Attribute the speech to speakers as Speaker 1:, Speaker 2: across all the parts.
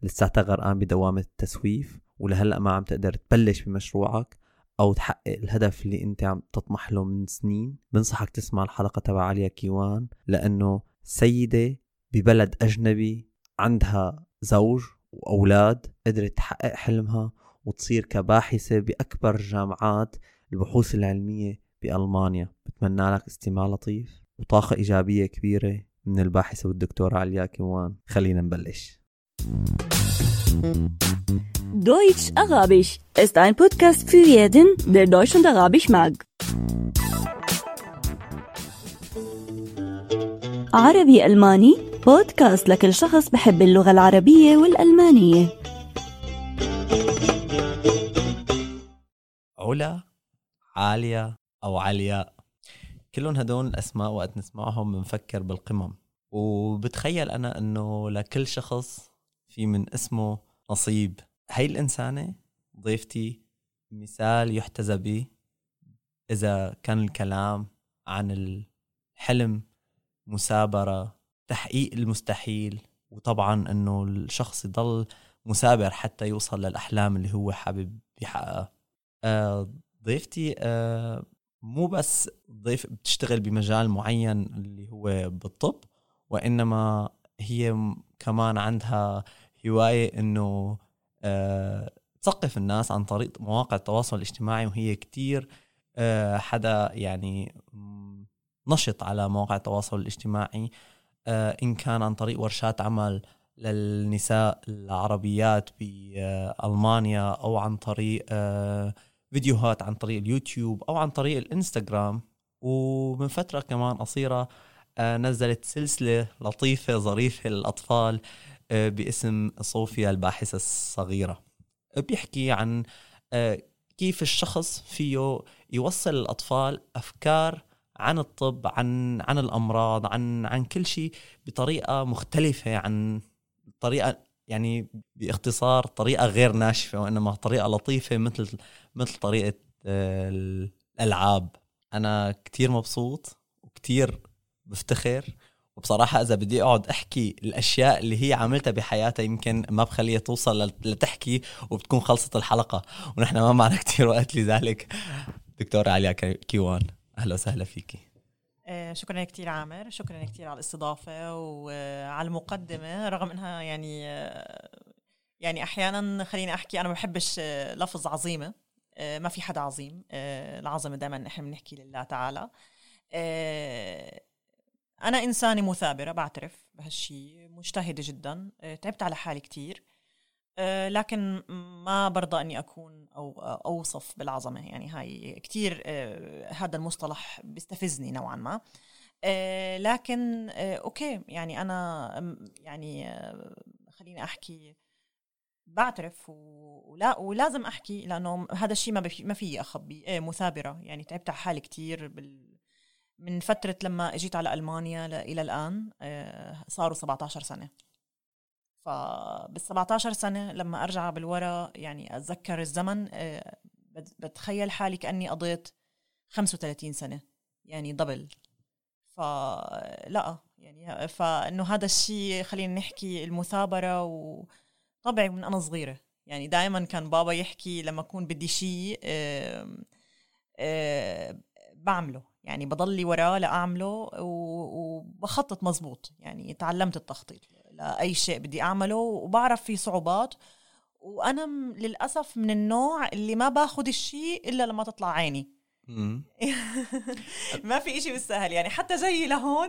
Speaker 1: لساتها غرقان بدوامة التسويف ولهلأ ما عم تقدر تبلش بمشروعك أو تحقق الهدف اللي أنت عم تطمح له من سنين، بنصحك تسمع الحلقة تبع عليا كيوان، لأنه سيدة ببلد أجنبي عندها زوج وأولاد قدرت تحقق حلمها وتصير كباحثة بأكبر جامعات البحوث العلمية بألمانيا. بتمنى لك استماع لطيف وطاقة إيجابية كبيرة من الباحثة والدكتورة عليا كيوان. خلينا نبلش.
Speaker 2: Deutsch Arabisch ist ein Podcast für jeden, der Deutsch und Arabisch mag. عربي ألماني بودكاست لكل شخص بحب اللغة العربية والألمانية.
Speaker 1: علا، عالية أو علياء، كلهم هدول الأسماء وقت نسمعهم بنفكر بالقمم، وبتخيل أنا أنه لكل شخص في من اسمه نصيب. هاي الإنسانة ضيفتي مثال يحتذى به إذا كان الكلام عن الحلم، مثابرة، تحقيق المستحيل، وطبعا أنه الشخص يضل مثابر حتى يوصل للأحلام اللي هو حابب يحققها. ضيفتي مو بس ضيف بتشتغل بمجال معين اللي هو بالطب، وإنما هي كمان عندها هواية إنه تثقف الناس عن طريق مواقع التواصل الاجتماعي، وهي كتير حدا يعني نشط على مواقع التواصل الاجتماعي، إن كان عن طريق ورشات عمل للنساء العربيات بألمانيا، أو عن طريق فيديوهات عن طريق اليوتيوب، أو عن طريق الإنستغرام. ومن فترة كمان قصيرة نزلت سلسلة لطيفة ظريفة للأطفال باسم صوفيا الباحثة الصغيرة، بيحكي عن كيف الشخص فيه يوصل الأطفال أفكار عن الطب، عن الأمراض، عن كل شيء بطريقة مختلفة، عن طريقة يعني باختصار طريقة غير ناشفة، وإنما طريقة لطيفة مثل طريقة الألعاب. أنا كتير مبسوط وكتير بفتخر، وبصراحة إذا بدي أقعد أحكي الأشياء اللي هي عملتها بحياتها يمكن ما بخليها توصل لتحكي وبتكون خلصت الحلقة، ونحن ما معنا كتير وقت لذلك. دكتورة عليا كيوان، أهلا وسهلا فيكي.
Speaker 3: شكرا كتير عامر، شكرا كتير على الاستضافة وعلى المقدمة، رغم إنها يعني أحيانا خليني أحكي أنا ما بحبش لفظ عظيمة، ما في حدا عظيم، العظمة دائما نحن بنحكي لله تعالى. أنا إنسانة مثابرة، بعترف بهالشي، مجتهدة جدا، تعبت على حالي كتير، لكن ما برضى أني أكون أو أوصف بالعظمة. يعني هاي كتير هذا المصطلح بيستفزني نوعا ما، لكن أوكي، يعني أنا يعني خليني أحكي بعترف ولازم أحكي، لأنه هذا الشيء ما فيه أخبي. مثابرة، يعني تعبت على حالي كتير من فترة لما اجيت على ألمانيا إلى الآن، صاروا 17 سنة. فبال17 سنة لما أرجع بالورا يعني أتذكر الزمن، بتخيل حالي كأني قضيت 35 سنة، يعني دبل. فلا يعني فإنه هذا الشيء خلينا نحكي المثابرة، وطبعي من أنا صغيرة يعني دائما كان بابا يحكي لما أكون بدي شيء بعمله، يعني بضلي وراه لأعمله وبخطط مزبوط. يعني تعلمت التخطيط لأي شيء بدي أعمله، وبعرف في صعوبات، وأنا للأسف من النوع اللي ما باخد الشيء إلا لما تطلع عيني. ما في إشي بالسهل، يعني حتى جاي لهون.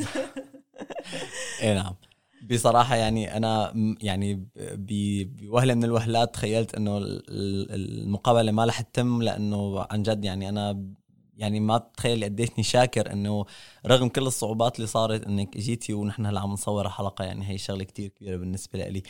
Speaker 1: إيه نعم، بصراحة يعني أنا يعني بوهلة من الوهلات تخيلت إنه المقابلة ما رح تتم، لأنه عن جد يعني أنا يعني ما بتخيل قديشني شاكر إنه رغم كل الصعوبات اللي صارت إنك جيتي ونحن هلا عم نصور حلقة. يعني هي شغلة كتير كبيرة بالنسبة لي.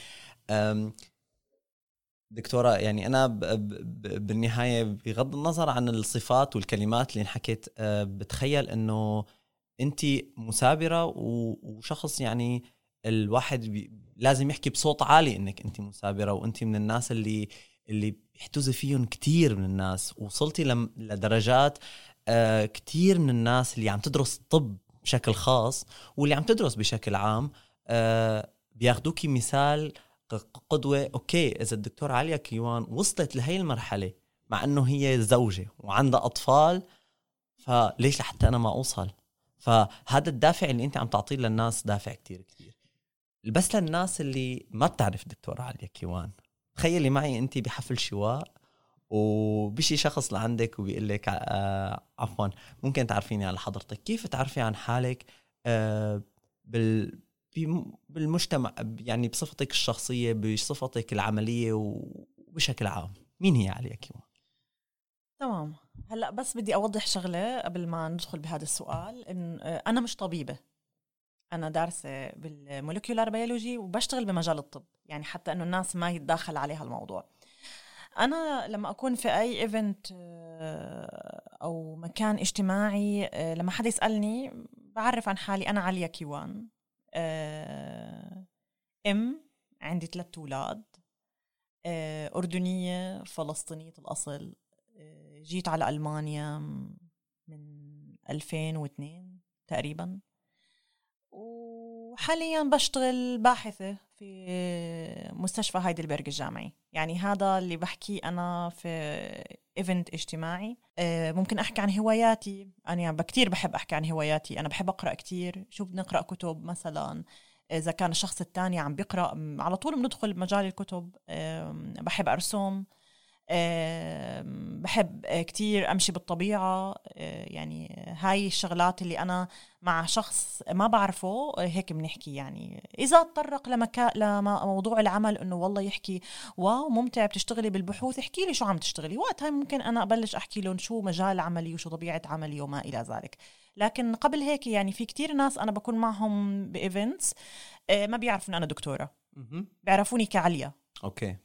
Speaker 1: دكتورة، يعني أنا بالنهاية بغض النظر عن الصفات والكلمات اللي انحكيت، بتخيل إنه أنتي مثابرة وشخص يعني الواحد لازم يحكي بصوت عالي إنك أنتي مثابرة، وأنتي من الناس اللي بيحتوز فيهم كتير من الناس. وصلتي لدرجات كتير من الناس اللي عم تدرس طب بشكل خاص واللي عم تدرس بشكل عام بياخدوكي مثال قدوة. أوكي إذا الدكتورة عليا كيوان وصلت لهي المرحلة مع أنه هي زوجة وعندها أطفال، فليش لحتى أنا ما أوصل؟ فهذا الدافع اللي أنت عم تعطيه للناس دافع كتير كتير. بس للناس اللي ما بتعرف دكتورة عليا كيوان، تخيلي معي أنت بحفل شواء وبشي شخص لعندك وبيقول لك عفوا ممكن تعرفيني على حضرتك، كيف تعرفي عن حالك بالمجتمع، يعني بصفتك الشخصية، بصفتك العملية وبشكل عام، مين هي عليا كيوان؟
Speaker 3: تمام. هلأ بس بدي أوضح شغلة قبل ما ندخل بهذا السؤال، إن أنا مش طبيبة، أنا دارسة بالمولكيولار بيولوجي وبشتغل بمجال الطب، يعني حتى إنه الناس ما يتداخل عليها الموضوع. أنا لما أكون في أي إيفنت أو مكان اجتماعي، لما حد يسألني بعرف عن حالي، أنا عليا كيوان، عندي 3 أولاد، أردنية فلسطينية الأصل، جيت على ألمانيا من 2002 تقريبا، وحاليا بشتغل باحثة في مستشفى هايدلبرغ الجامعي. يعني هذا اللي بحكي أنا في إيفنت اجتماعي. ممكن أحكي عن هواياتي، أنا كتير بحب أحكي عن هواياتي، أنا بحب أقرأ كتير. شو بنقرأ كتب مثلا، إذا كان الشخص التاني عم بيقرأ على طول بندخل بمجال الكتب. بحب أرسم، بحب كتير أمشي بالطبيعة. يعني هاي الشغلات اللي أنا مع شخص ما بعرفه هيك بنحكي. يعني إذا تطرق لموضوع العمل إنه والله يحكي واو ممتع بتشتغلي بالبحوث، احكي لي شو عم تشتغلي، وقتها ممكن أنا أبلش أحكي لهم شو مجال عملي وشو طبيعة عملي وما إلى ذلك. لكن قبل هيك يعني في كتير ناس أنا بكون معهم بإيفنتس ما بيعرفوا إن أنا دكتورة، بيعرفوني كعليا.
Speaker 1: أوكي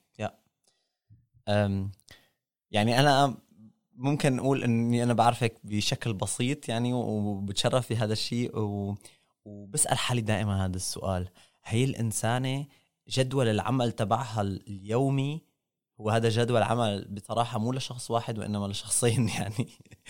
Speaker 1: يعني أنا ممكن نقول أني أنا بعرفك بشكل بسيط يعني، وبتشرف بهذا الشيء، وبسأل حالي دائما هذا السؤال: هي الإنسانة جدول العمل تبعها اليومي هو هذا جدول عمل بصراحة مو لشخص واحد وإنما لشخصين يعني.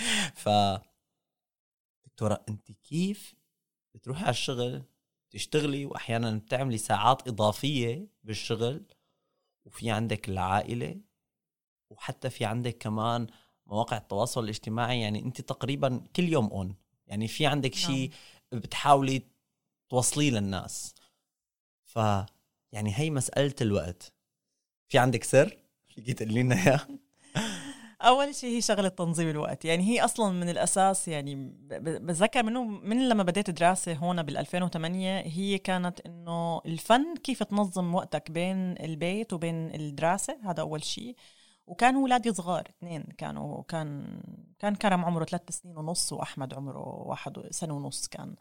Speaker 1: دكتورة أنت كيف بتروحي على الشغل تشتغلي وأحيانا بتعملي ساعات إضافية بالشغل، وفي عندك العائلة، وحتى في عندك كمان مواقع التواصل الاجتماعي، يعني انت تقريبا كل يوم يعني في عندك شيء بتحاولي توصليه للناس. يعني هي مسألة الوقت، في عندك سر فيكي تقولي لنا اياه؟
Speaker 3: أول شيء هي شغلة تنظيم الوقت. يعني هي أصلا من الأساس، يعني بتذكر من لما بديت دراسة هون بال2008 هي كانت إنه الفن كيف تنظم وقتك بين البيت وبين الدراسة. هذا أول شيء. وكان ولادي صغار 2، كان كرم عمره 3 سنين ونص وأحمد عمره 1 سنة ونص كان.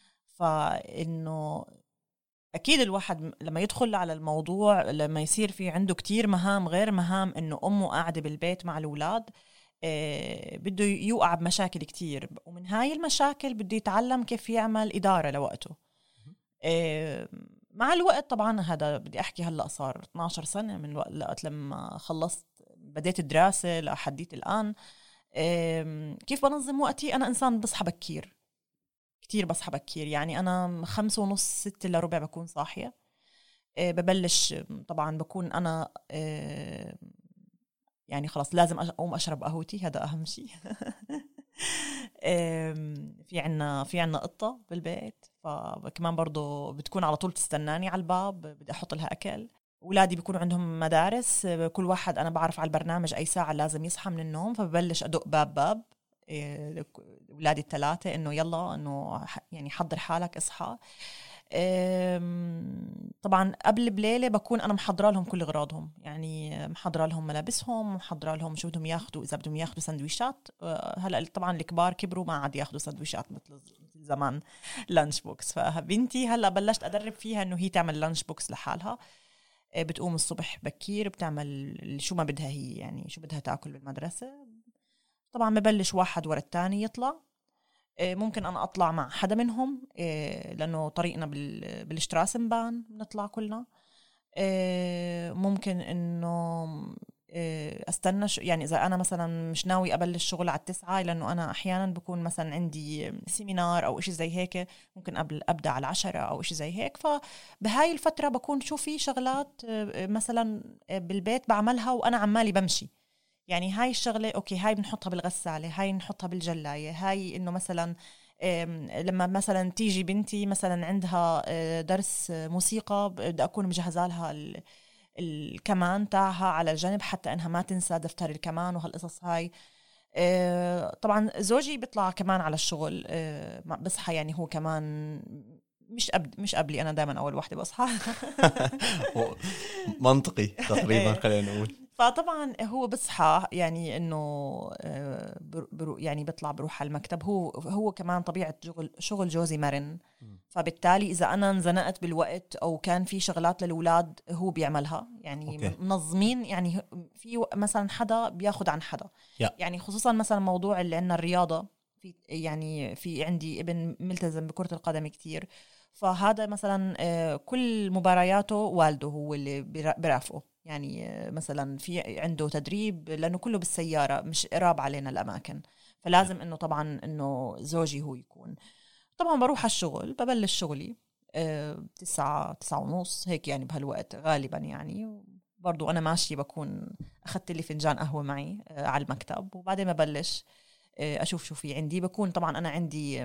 Speaker 3: فإنه أكيد الواحد لما يدخل على الموضوع، لما يصير في عنده كتير مهام غير مهام إنه أمه قاعدة بالبيت مع الأولاد، بده يوقع بمشاكل كتير، ومن هاي المشاكل بده يتعلم كيف يعمل إدارة لوقته. مع الوقت طبعا، هذا بدي أحكي هلأ صار 12 سنة من وقت لما خلصت بديت الدراسة لحديت الآن. كيف بنظم وقتي؟ أنا إنسان بصحى بكير كتير، بصحى بكير. يعني أنا 5:30 6 إلا ربع بكون صاحية. ببلش طبعا بكون أنا يعني خلاص لازم أقوم أشرب قهوتي، هذا أهم شيء. في عنا قطة بالبيت، فكمان برضو بتكون على طول تستناني على الباب، بدي أحط لها أكل. أولادي بيكون عندهم مدارس، كل واحد أنا بعرف على البرنامج أي ساعة لازم يصحى من النوم، فببلش أدق باب أولادي ال3 إنه يلا إنه يعني حضر حالك اصحى. طبعا قبل بليلة بكون أنا محضرة لهم كل أغراضهم، يعني محضرة لهم ملابسهم، محضرة لهم شو بدهم ياخدوا، إذا بدهم ياخدوا سندويشات. هلأ طبعا الكبار كبروا ما عاد ياخدوا سندويشات مثل زمان لانش بوكس. فبنتي هلأ بلشت أدرب فيها إنه هي تعمل لانش بوكس لحالها. بتقوم الصبح بكير بتعمل شو ما بدها هي، يعني شو بدها تاكل بالمدرسة. طبعا ببلش واحد ورا الثاني يطلع. ممكن أنا أطلع مع حدا منهم لأنه طريقنا بالاشتراس مبان بنطلع كلنا. ممكن إنه استنى يعني اذا انا مثلا مش ناوي ابلش شغل على 9 لانه انا احيانا بكون مثلا عندي سيمينار او إشي زي هيك ممكن ابدا على 10 او إشي زي هيك. فبهاي الفتره بكون شو في شغلات مثلا بالبيت بعملها وانا عمالي بمشي. يعني هاي الشغله اوكي هاي بنحطها بالغساله، هاي نحطها بالجلايه، هاي انه مثلا لما مثلا تيجي بنتي مثلا عندها درس موسيقى بدي اكون مجهزه لها الكمان تاعها على الجنب حتى انها ما تنسى دفتر الكمان وهالقصص هاي. طبعا زوجي بيطلع كمان على الشغل بصحى يعني هو كمان مش قبلي، انا دائما اول وحده بصحى.
Speaker 1: منطقي تقريبا خلينا نقول.
Speaker 3: فطبعا هو بصحى يعني انه يعني بيطلع بروح على المكتب. هو كمان طبيعه شغل جوزي مرن، فبالتالي اذا انا انزنقت بالوقت او كان في شغلات للاولاد هو بيعملها. يعني
Speaker 1: أوكي.
Speaker 3: منظمين، يعني في مثلا حدا بياخد عن حدا. يعني خصوصا مثلا موضوع اللي عندنا الرياضه، في عندي ابن ملتزم بكره القدم كتير، فهذا مثلا كل مبارياته والده هو اللي برافقه. يعني مثلا في عنده تدريب لأنه كله بالسيارة مش قراب علينا الأماكن، فلازم إنه طبعا إنه زوجي هو يكون. طبعا بروح على الشغل، ببلش شغلي 9:30 هيك يعني بهالوقت غالبا. يعني برضو أنا ماشي بكون أخذت لي فنجان قهوة معي على المكتب، وبعدين ببلش أشوف شو في عندي. بكون طبعا أنا عندي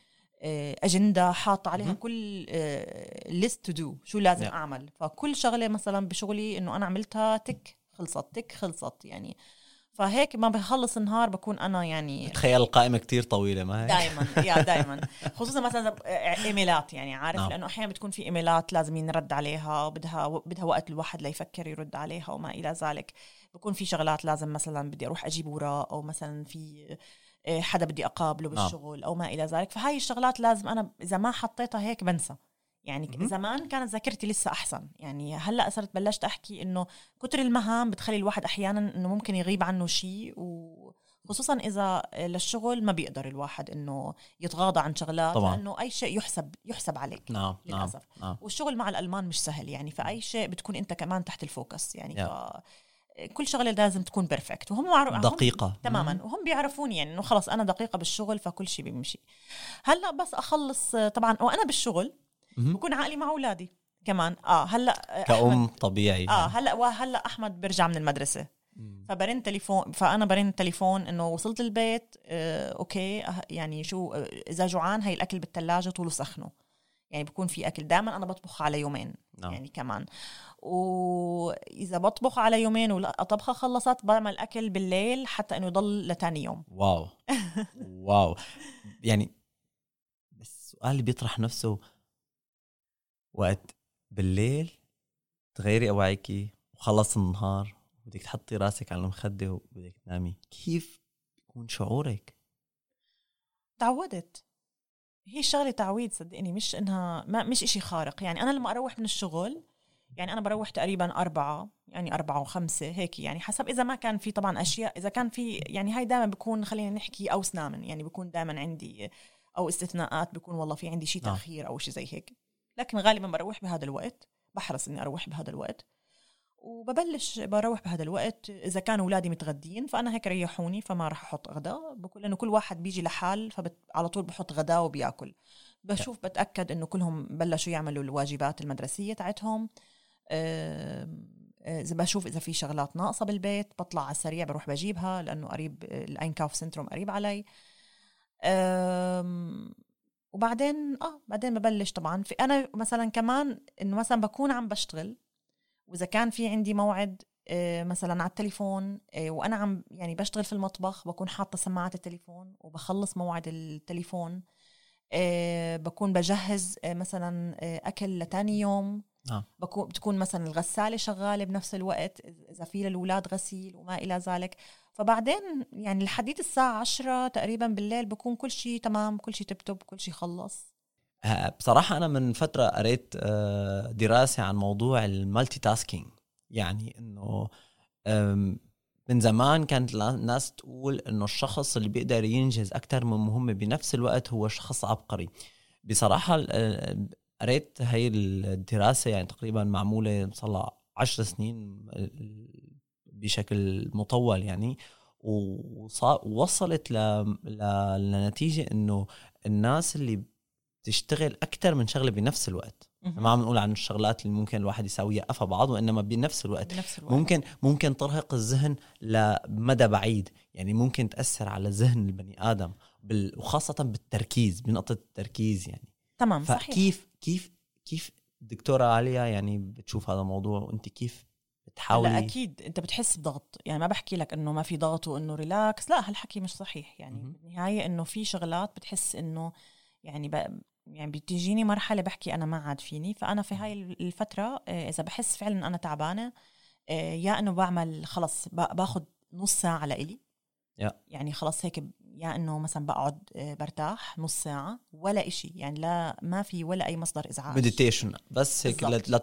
Speaker 3: أجندة حاطة عليها كل list to do شو لازم أعمل. فكل شغلة مثلا بشغلي إنه أنا عملتها تك خلصت يعني. فهيك ما بخلص النهار بكون أنا يعني
Speaker 1: تخيل القائمة كتير طويلة ما هي؟
Speaker 3: دايما خصوصا مثلا إيميلات، يعني عارف لأنه أحيانا بتكون في إيميلات لازم ينرد عليها، بدها وقت الواحد ليفكر يرد عليها وما إلى ذلك. بكون في شغلات لازم مثلا بدي أروح أجيب وراء، أو مثلا في حدا بدي أقابله بالشغل أو ما إلى ذلك. فهاي الشغلات لازم أنا إذا ما حطيتها هيك بنسى. يعني زمان كانت ذاكرتي لسه أحسن، يعني هلأ صرت بلشت أحكي إنه كتر المهام بتخلي الواحد أحيانا إنه ممكن يغيب عنه شيء، وخصوصا إذا للشغل ما بيقدر الواحد إنه يتغاضى عن شغلات طبعا. لأنه أي شيء يحسب عليك للأسف. والشغل مع الألمان مش سهل يعني، فأي شيء بتكون أنت كمان تحت الفوكس يعني كل شغله لازم تكون بيرفكت، وهم
Speaker 1: دقيقه
Speaker 3: تماما. وهم بيعرفوني يعني انه خلص انا دقيقه بالشغل فكل شيء بيمشي. هلا بس اخلص طبعا وانا بالشغل بكون عقلي مع اولادي كمان. هلا
Speaker 1: كأم طبيعي
Speaker 3: هلا احمد بيرجع من المدرسه، فبرن تليفون، فانا برن تليفون انه وصلت البيت. اوكي يعني شو اذا جوعان هاي الاكل بالثلاجه طوله سخنه. يعني بكون في أكل دائما أنا بطبخ على يومين يعني كمان. وإذا بطبخ على يومين وطبخة خلصت بعمل أكل بالليل حتى إنه يضل لتاني يوم.
Speaker 1: واو يعني السؤال اللي بيطرح نفسه، وقت بالليل تغيري أوعيكي وخلص النهار بدك تحطي راسك على المخدة وبدك تنامي، كيف يكون شعورك؟
Speaker 3: تعودت، هي الشغلة تعويد صدقني، مش إنها مش إشي خارق. يعني أنا لما أروح من الشغل يعني أنا بروح تقريبا 4 يعني 4 و5 هيك يعني حسب إذا ما كان في طبعا أشياء. إذا كان في يعني هاي دائما بكون خلينا نحكي أو سنامن، يعني بكون دائما عندي أو استثناءات بكون والله في عندي شيء تأخير أو شيء زي هيك، لكن غالبا بروح بهذا الوقت، بحرص إني أروح بهذا الوقت وببلش بروح بهذا الوقت. إذا كانوا أولادي متغدين فأنا هيك ريحوني فما رح أحط غداء، بقول إنه كل واحد بيجي لحال فعلى طول بحط غداء وبياكل. بشوف بتأكد إنه كلهم بلشوا يعملوا الواجبات المدرسية تاعتهم. إذا بشوف إذا في شغلات ناقصة بالبيت بطلع على السريع بروح بجيبها لأنه قريب الأينكاوف سنتروم قريب علي. وبعدين بعدين ببلش طبعا في أنا مثلا كمان إنه مثلا بكون عم بشتغل، وإذا كان في عندي موعد مثلا على التليفون وأنا عم يعني بشتغل في المطبخ بكون حاطة سماعة التليفون وبخلص موعد التليفون. بكون بجهز مثلا أكل لتاني يوم. بتكون مثلا الغسالة شغالة بنفس الوقت إذا في للولاد غسيل وما إلى ذلك. فبعدين يعني لحديت الساعة 10 تقريبا بالليل بكون كل شيء تمام، كل شيء تبتب، كل شيء خلص.
Speaker 1: بصراحة أنا من فترة قريت دراسة عن موضوع المالتي تاسكينج، يعني إنه من زمان كانت الناس تقول إنه الشخص اللي بيقدر ينجز أكتر من مهمة بنفس الوقت هو شخص عبقري. بصراحة قريت هاي الدراسة يعني تقريبا معمولة صار 10 سنين بشكل مطول يعني، ووصلت لنتيجة إنه الناس اللي تشتغل أكتر من شغلة بنفس الوقت. ما عم نقول عن الشغلات اللي ممكن الواحد يساويها أفا بعض، وإنما بنفس الوقت ممكن ترهق الذهن لمدى بعيد، يعني ممكن تأثر على ذهن البني آدم وخاصة بالتركيز، بنقطة التركيز يعني.
Speaker 3: تمام.
Speaker 1: فكيف كيف دكتورة عليا يعني بتشوف هذا الموضوع، وانت كيف بتحاولي؟
Speaker 3: لا أكيد أنت بتحس بضغط، يعني ما بحكي لك إنه ما في ضغط وإنه ريلاكس، لا هالحكي مش صحيح يعني. بالنهاية إنه في شغلات بتحس إنه يعني يعني بتجيني مرحلة بحكي أنا ما عاد فيني. فأنا في هاي الفترة إذا بحس فعلا أنا تعبانة، يا إنه بعمل خلص باخد نص ساعة لإلي، يعني خلص هيك، يا إنه مثلا بقعد برتاح نص ساعة ولا إشي، يعني لا ما في ولا أي مصدر إزعاج،
Speaker 1: مديتيشن بس هيك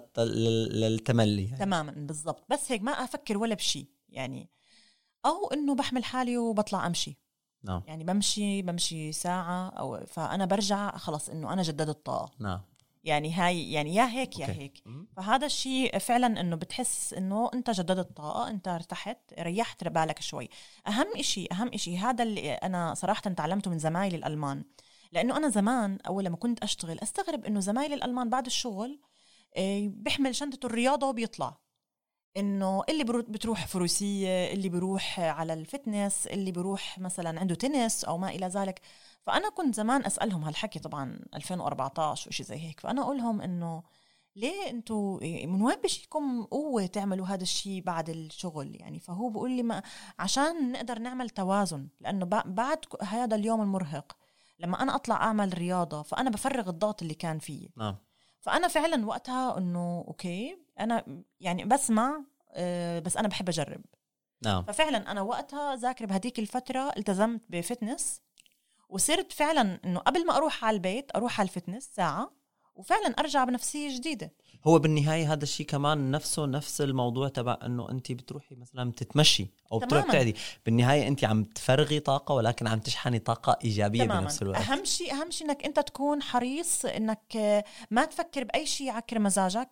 Speaker 1: للتملي يعني.
Speaker 3: تماما بالضبط، بس هيك ما أفكر ولا بشي يعني. أو إنه بحمل حالي وبطلع أمشي.
Speaker 1: نعم.
Speaker 3: يعني بمشي ساعة أو فأنا برجع خلص إنه أنا جددت الطاقة.
Speaker 1: نعم.
Speaker 3: يعني هاي يعني يا هيك يا هيك. فهذا الشيء فعلا إنه بتحس إنه أنت جددت الطاقة، أنت ارتحت ريحت بالك شوي. أهم إشي هذا اللي أنا صراحة تعلمته من زمايلي الألمان، لأنه أنا زمان أول لما كنت أشتغل أستغرب إنه زمايلي الألمان بعد الشغل بيحمل شنطة الرياضة وبيطلع، إنه اللي بتروح فروسية، اللي بيروح على الفتنس، اللي بيروح مثلا عنده تنس أو ما إلى ذلك. فأنا كنت زمان أسألهم هالحكي، طبعا 2014 وشي زي هيك، فأنا أقولهم إنه ليه أنتوا من وين بشيكم قوة تعملوا هذا الشيء بعد الشغل يعني؟ فهو بيقول لي ما عشان نقدر نعمل توازن، لأنه بعد هذا اليوم المرهق لما أنا أطلع أعمل رياضة فأنا بفرغ الضغط اللي كان فيه.
Speaker 1: نعم.
Speaker 3: فأنا فعلا وقتها إنه أوكي أنا يعني بسمع، بس أنا بحب أجرب.
Speaker 1: نعم.
Speaker 3: ففعلا أنا وقتها ذاكر بهديك الفترة التزمت بفتنس، وصرت فعلا إنه قبل ما أروح على البيت أروح على الفتنس ساعة، وفعلا أرجع بنفسية جديدة.
Speaker 1: هو بالنهاية هذا الشيء كمان نفس الموضوع تبع انه انت بتروحي مثلا بتتمشي او بتروحي بتعدي، بالنهاية انت عم تفرغي طاقة ولكن عم تشحني طاقة ايجابية تماماً. بنفس الوقت
Speaker 3: اهم شيء انك انت تكون حريص انك ما تفكر باي شيء يعكر مزاجك،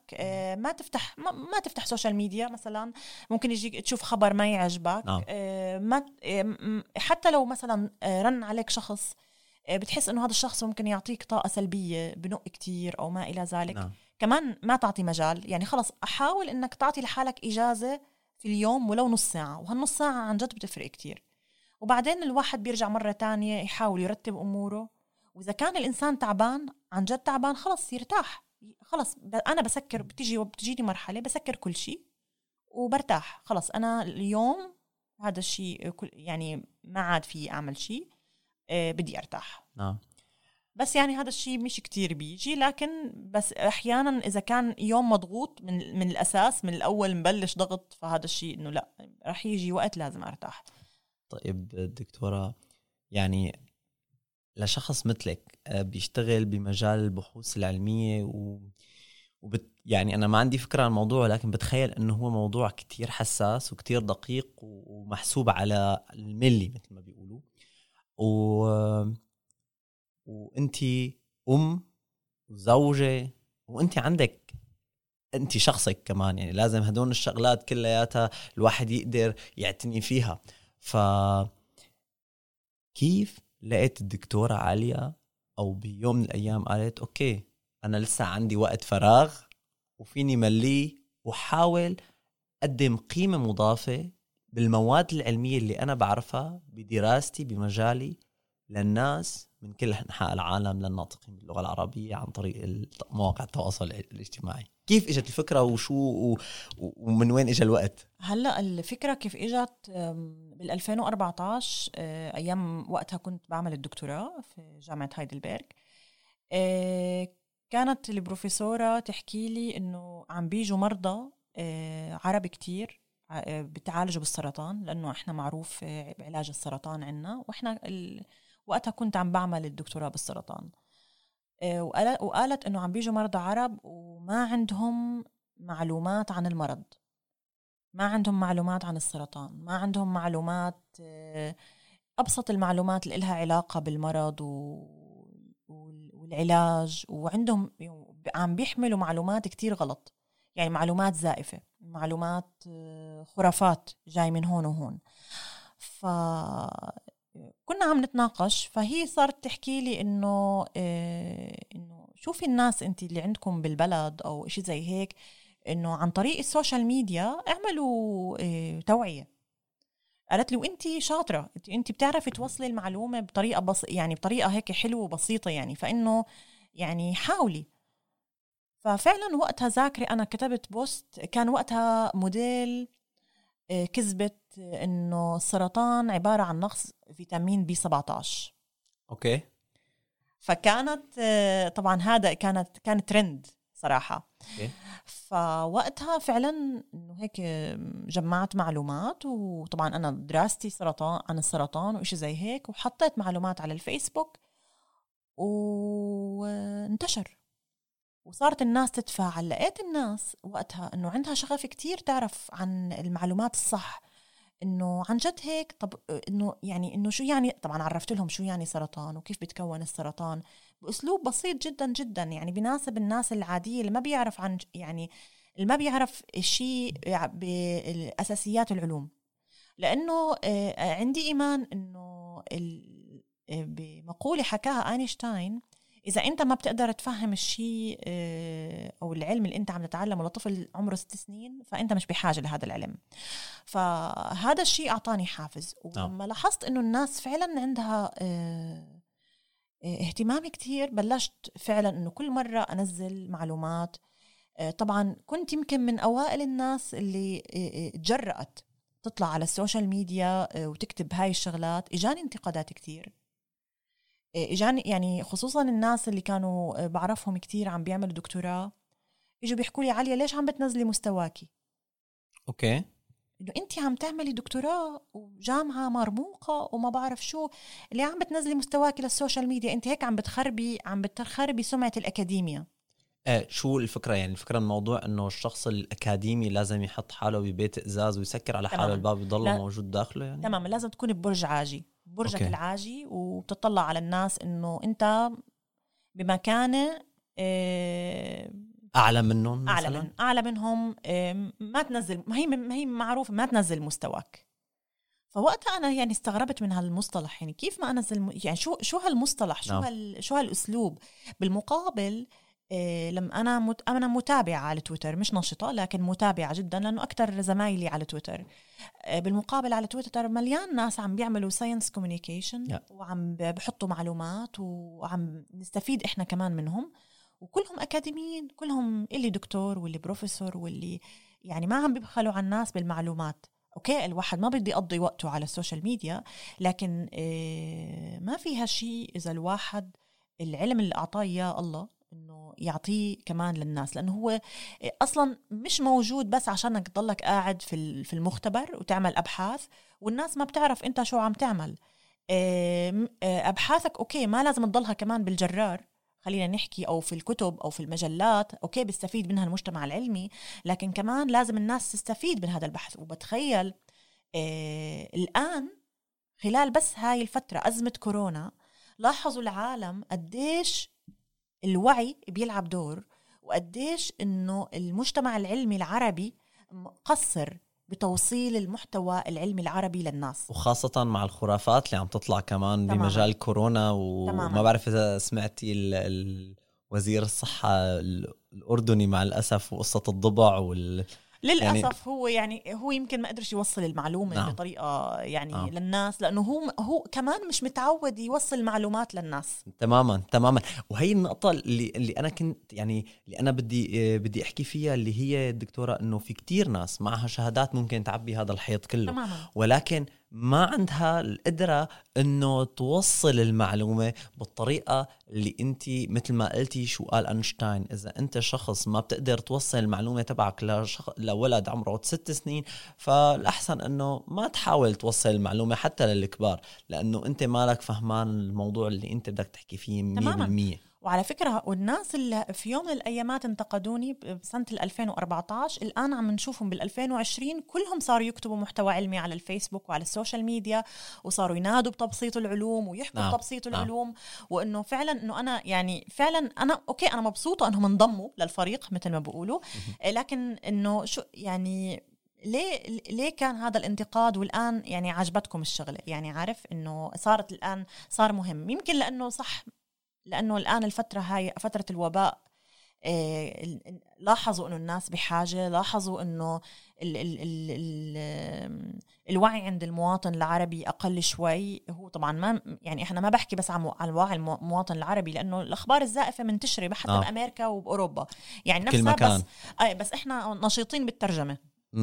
Speaker 3: ما تفتح سوشيال ميديا مثلا، ممكن يجيك تشوف خبر ما يعجبك. ما حتى لو مثلا رن عليك شخص بتحس انه هذا الشخص ممكن يعطيك طاقة سلبية بنق كتير او ما الى ذلك. كمان ما تعطي مجال، يعني خلص أحاول إنك تعطي لحالك إجازة في اليوم ولو نص ساعة، وهالنص ساعة عن جد بتفرق كتير. وبعدين الواحد بيرجع مرة تانية يحاول يرتب أموره، وإذا كان الإنسان تعبان عن جد تعبان خلص يرتاح. خلص أنا بسكر، بتجيني مرحلة بسكر كل شيء وبرتاح. خلص أنا اليوم هذا الشيء يعني ما عاد في أعمل شيء، بدي أرتاح. بس يعني هذا الشيء مش كتير بيجي، لكن بس أحيانا إذا كان يوم مضغوط من الأساس من الأول مبلش ضغط، فهذا الشيء إنه لا رح يجي وقت لازم أرتاح.
Speaker 1: طيب دكتورة، يعني لشخص مثلك بيشتغل بمجال البحوث العلمية يعني أنا ما عندي فكرة عن الموضوع، لكن بتخيل إنه هو موضوع كتير حساس وكتير دقيق ومحسوب على الملي مثل ما بيقولوا، وانتي وزوجة وانتي عندك انتي شخصك كمان، يعني لازم هدول الشغلات كلياتها الواحد يقدر يعتني فيها. كيف لقيت الدكتورة عليا او بيوم من الايام قالت اوكي انا لسه عندي وقت فراغ وفيني ملي وحاول اقدم قيمة مضافة بالمواد العلمية اللي انا بعرفها بدراستي بمجالي للناس من كل أنحاء العالم للناطقين باللغة العربية عن طريق مواقع التواصل الاجتماعي. كيف إجت الفكرة ومن وين إجا الوقت؟
Speaker 3: هلأ الفكرة كيف إجت بال2014، أيام وقتها كنت بعمل الدكتوراه في جامعة هايدلبرغ. كانت البروفيسورة تحكي لي إنه عم بيجوا مرضى عرب كتير بتعالجوا بالسرطان، لأنه إحنا معروف بعلاج السرطان عنا، وإحنا وقتها كنت عم بعمل الدكتوراه بالسرطان. وقالت إنه عم بيجوا مرضى عرب وما عندهم معلومات عن المرض، ما عندهم معلومات عن السرطان، ما عندهم معلومات، أبسط المعلومات اللي لها علاقة بالمرض والعلاج، وعندهم عم بيحملوا معلومات كتير غلط، يعني معلومات زائفة. معلومات خرافات جاي من هون وهون. كنا عم نتناقش، فهي صارت تحكي لي إنه شوفي الناس أنت اللي عندكم بالبلد أو إشي زي هيك، إنه عن طريق السوشيال ميديا اعملوا توعية. قالت لي وأنت شاطرة، أنت بتعرفي توصلي المعلومة بطريقة يعني بطريقة هيك حلوة وبسيطة يعني، فإنه يعني حاولي. ففعلا وقتها ذاكري أنا كتبت بوست، كان وقتها موديل كذبت إنه السرطان عبارة عن نقص فيتامين B17.
Speaker 1: أوكي.
Speaker 3: فكانت طبعا هذا كانت ترند صراحة.
Speaker 1: أوكي.
Speaker 3: فوقتها فعلا إنه هيك جمعت معلومات، وطبعا أنا دراستي سرطان عن السرطان وإشي زي هيك، وحطيت معلومات على الفيسبوك وانتشر وصارت الناس تتفاعل. لقيت الناس وقتها إنه عندها شغف كتير تعرف عن المعلومات الصح، إنه عن جد هيك. طب إنه شو يعني، طبعا عرفت لهم شو يعني سرطان وكيف بتكون السرطان بأسلوب بسيط جدا جدا، يعني بيناسب الناس العادية اللي ما بيعرف عن اللي ما بيعرف الشيء بالأساسيات العلوم. لأنه عندي إيمان إنه بمقولة حكاها أينشتاين، إذا أنت ما بتقدر تفهم الشيء أو العلم اللي أنت عم تتعلمه لطفل عمره 6 سنين، فأنت مش بحاجة لهذا العلم. فهذا الشيء أعطاني حافز. ولما لاحظت إنه الناس فعلا عندها اهتمام كتير، بلشت فعلا إنه كل مرة أنزل معلومات. طبعا كنت يمكن من أوائل الناس اللي تجرأت تطلع على السوشيال ميديا وتكتب هاي الشغلات. إجاني انتقادات كتير، إجاني يعني خصوصا الناس اللي كانوا بعرفهم كتير عم بيعملوا دكتوراه، إجوا بيحكوا لي عليا ليش عم بتنزلي مستواكي؟
Speaker 1: أوكي.
Speaker 3: إنه أنت عم تعملي دكتوراه وجامعة مرموقة وما بعرف شو اللي عم بتنزلي مستواكي للسوشيال ميديا، أنت هيك عم بتخربي سمعة الأكاديمية.
Speaker 1: شو الفكرة؟ يعني الفكرة الموضوع إنه الشخص الأكاديمي لازم يحط حاله ببيت إزاز ويسكر على حاله الباب يضل موجود داخله يعني؟
Speaker 3: تمام، لازم تكون ببرج عاجي، برجك
Speaker 1: أوكي.
Speaker 3: العاجي، وبتطلع على الناس إنه أنت بمكانة
Speaker 1: أعلى منهم مثلا؟
Speaker 3: أعلى منهم. ما تنزل، ما هي معروفة ما تنزل مستواك. فوقتها أنا يعني استغربت من هالمصطلح، يعني كيف ما أنزل يعني شو هالمصطلح، شو هالأسلوب. بالمقابل لما أنا متابعة على تويتر، مش نشطة لكن متابعة جدا، لأنه أكتر زمايلي على تويتر. بالمقابل على تويتر مليان ناس عم بيعملوا ساينس كوميونيكيشن وعم بحطوا معلومات وعم نستفيد إحنا كمان منهم، وكلهم أكاديميين، كلهم اللي دكتور واللي بروفيسور واللي يعني ما عم بيبخلوا على الناس بالمعلومات. أوكي، الواحد ما بدي يقضي وقته على السوشيال ميديا، لكن ما فيها شيء إذا الواحد العلم اللي أعطاه إياه الله إنه يعطيه كمان للناس، لأنه هو أصلا مش موجود بس عشانك تضلك قاعد في المختبر وتعمل أبحاث والناس ما بتعرف أنت شو عم تعمل. أبحاثك أوكي ما لازم تضلها كمان بالجرار، خلينا نحكي، أو في الكتب أو في المجلات، أوكي بيستفيد منها المجتمع العلمي، لكن كمان لازم الناس تستفيد من هذا البحث. وبتخيل الآن خلال بس هاي الفترة أزمة كورونا، لاحظوا العالم قديش الوعي بيلعب دور، وقديش إنه المجتمع العلمي العربي مقصر بتوصيل المحتوى العلمي العربي للناس،
Speaker 1: وخاصة مع الخرافات اللي عم تطلع كمان
Speaker 3: تماماً.
Speaker 1: بمجال كورونا. وما
Speaker 3: تماماً.
Speaker 1: بعرف إذا سمعتي وزير الصحة الأردني مع الأسف وقصة الضبع
Speaker 3: للأسف هو يمكن ما قدرش يوصل المعلومة
Speaker 1: نعم.
Speaker 3: بطريقة للناس، لأنه هو كمان مش متعود يوصل المعلومات للناس.
Speaker 1: تماما. وهي النقطة اللي أنا كنت يعني اللي أنا بدي أحكي فيها، اللي هي الدكتورة، إنه في كتير ناس معها شهادات ممكن تعبي هذا الحيط كله.
Speaker 3: تماماً.
Speaker 1: ولكن ما عندها القدرة إنه توصل المعلومة بالطريقة اللي أنت مثل ما قلتي شو قال أينشتاين، إذا أنت شخص ما بتقدر توصل المعلومة تبعك لولد عمره 6 سنين، فالأحسن إنه ما تحاول توصل المعلومة حتى للكبار، لأنه أنت مالك فهمان الموضوع اللي أنت بدك تحكي فيه 100%.
Speaker 3: وعلى فكرة والناس اللي في يوم من الأيامات انتقدوني بسنة 2014 الآن عم نشوفهم 2020 كلهم صاروا يكتبوا محتوى علمي على الفيسبوك وعلى السوشيال ميديا، وصاروا ينادوا بتبسيط العلوم ويحكوا بتبسيط العلوم. وإنه فعلا إنه أنا يعني فعلا أنا أوكي أنا مبسوطة إنهم انضموا للفريق مثل ما بيقولوا، لكن إنه شو يعني ليه كان هذا الانتقاد والآن يعني عجبتكم الشغلة؟ يعني عارف إنه صارت الآن صار مهم، يمكن لأنه صح لأنه الآن الفترة هاي فترة الوباء، لاحظوا إنه الناس بحاجة، لاحظوا إنه الوعي عند المواطن العربي أقل شوي. هو طبعا ما يعني إحنا ما بحكي بس عن وعي المواطن العربي، لأنه الأخبار الزائفة منتشرة حتى بأمريكا وبأوروبا يعني
Speaker 1: كل مكان.
Speaker 3: بس إحنا نشيطين بالترجمة.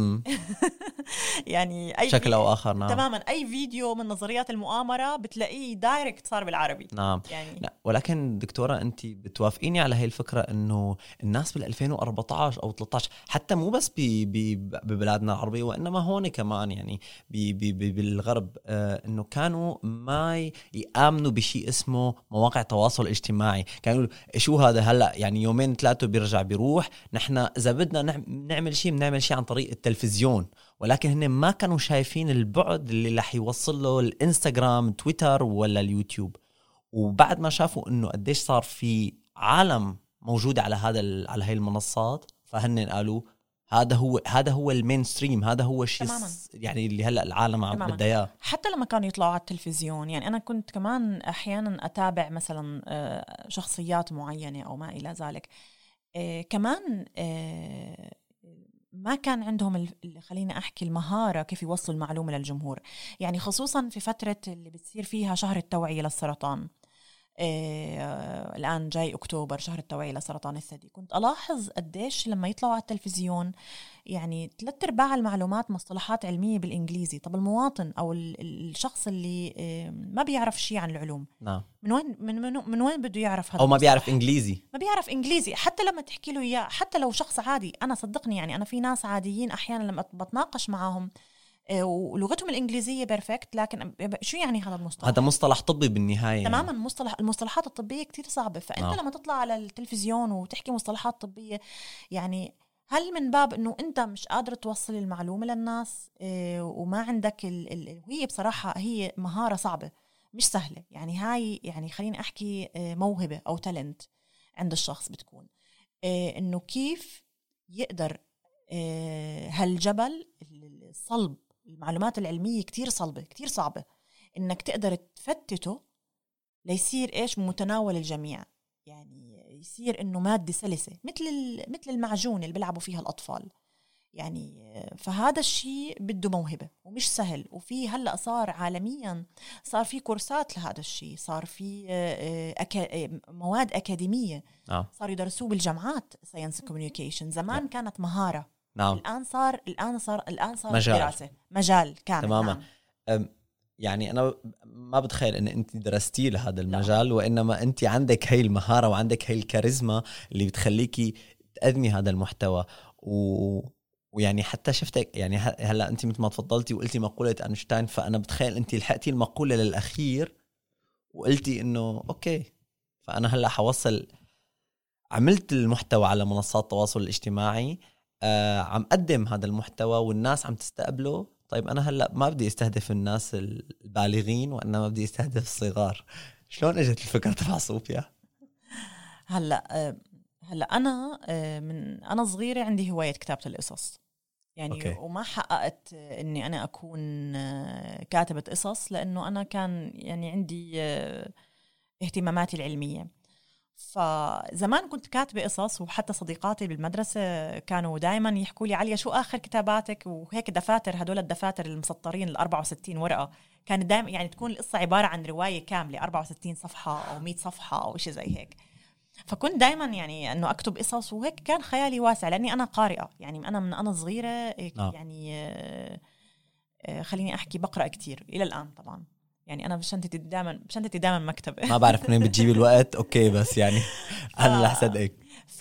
Speaker 3: يعني أي
Speaker 1: شكل أو آخر. نعم.
Speaker 3: تماما أي فيديو من نظريات المؤامرة بتلاقيه دايركت صار بالعربي.
Speaker 1: نعم
Speaker 3: يعني.
Speaker 1: لا ولكن دكتورة أنت بتوافقيني على هاي الفكرة أنه الناس بال2014 أو 13 حتى مو بس ببلادنا العربية وإنما هون كمان يعني بالغرب أنه كانوا ما يآمنوا بشيء اسمه مواقع تواصل اجتماعي. كانوا شو هذا هلأ يعني يومين ثلاثة بيرجع بيروح، نحن إذا بدنا نعمل شيء عن طريق التلفزيون، ولكن هن ما كانوا شايفين البعد اللي رح يوصل له الانستغرام تويتر ولا اليوتيوب. وبعد ما شافوا انه قديش صار في عالم موجود على على هاي المنصات، فهن قالوا هذا هو المين ستريم، هذا هو الشيء يعني اللي هلا العالم عم بدها اياه.
Speaker 3: حتى لما كانوا يطلعوا على التلفزيون، يعني انا كنت كمان احيانا اتابع مثلا شخصيات معينة او ما الى ذلك، كمان ما كان عندهم خليني أحكي المهارة كيف يوصلوا المعلومة للجمهور. يعني خصوصا في فترة اللي بتصير فيها شهر التوعية للسرطان، الآن جاي أكتوبر شهر التوعية لسرطان الثدي، كنت ألاحظ قديش لما يطلعوا على التلفزيون يعني 3/4 المعلومات مصطلحات علمية بالإنجليزي. طب المواطن أو الشخص اللي ما بيعرف شيء عن العلوم،
Speaker 1: نعم.
Speaker 3: من وين بده يعرف هذا؟
Speaker 1: أو ما بيعرف إنجليزي
Speaker 3: حتى لما تحكي له إياه، حتى لو شخص عادي. أنا صدقني يعني أنا في ناس عاديين أحيانا لما بتناقش معهم ولغتهم الإنجليزية بيرفكت، لكن شو يعني هذا المصطلح؟
Speaker 1: هذا مصطلح طبي بالنهاية.
Speaker 3: تماما المصطلحات الطبية كتير صعبة. فأنت لما تطلع على التلفزيون وتحكي مصطلحات طبية، يعني هل من باب أنه أنت مش قادر توصل المعلومة للناس وما عندك وهي بصراحة هي مهارة صعبة مش سهلة. يعني هاي يعني خليني أحكي موهبة أو تالنت عند الشخص بتكون أنه كيف يقدر هالجبل الصلب، المعلومات العلمية كتير صلبة كتير صعبة، إنك تقدر تفتته ليصير إيش متناول الجميع. يعني يصير إنه مادة سلسة مثل المعجون اللي بيلعبوا فيها الأطفال. يعني فهذا الشيء بده موهبة ومش سهل. وفي هلأ صار عالميا صار في كورسات لهذا الشيء، صار في مواد أكاديمية صار يدرسوه بالجامعات ساينس كوميونيكيشن. زمان كانت مهارة.
Speaker 1: نعم.
Speaker 3: الآن صار
Speaker 1: مجال.
Speaker 3: دراسة مجال كامل.
Speaker 1: تماما. نعم. يعني أنا ما بتخيل إن أنت درستي لهذا المجال. لا. وإنما أنت عندك هاي المهارة وعندك هاي الكاريزما اللي بتخليكي تقدمي هذا المحتوى. ويعني حتى شفتك يعني هلا أنت مثل ما تفضلتي وقلتي مقولة أينشتاين، فأنا بتخيل أنت لحقتي المقولة للأخير وقلتي إنه أوكي، فأنا هلا حوصل. عملت المحتوى على منصات التواصل الاجتماعي، عم قدم هذا المحتوى والناس عم تستقبله. طيب أنا هلأ ما بدي استهدف الناس البالغين وإنما بدي استهدف الصغار. شلون اجت الفكرة تبع صوفيا؟
Speaker 3: هلأ أنا من أنا صغيرة عندي هواية كتابة القصص يعني. أوكي. وما حققت إني أنا أكون كاتبة قصص لأنه أنا كان يعني عندي اهتماماتي العلمية. فزمان كنت كاتبة قصص، وحتى صديقاتي بالمدرسة كانوا دايما يحكوا لي عليا شو آخر كتاباتك، وهيك دفاتر هدول الدفاتر المسطرين 64 ورقة كانت دايما يعني تكون القصة عبارة عن رواية كاملة 64 صفحة أو 100 صفحة أو شيء زي هيك. فكنت دايما يعني أنه أكتب قصص، وهيك كان خيالي واسع لأني أنا قارئة. يعني أنا من أنا صغيرة يعني خليني أحكي بقرأ كتير إلى الآن طبعا. يعني أنا بشنتتي دائما مكتبة. ما
Speaker 1: بعرف منين بتجيبي الوقت. أوكي بس يعني أنا رح صدقك.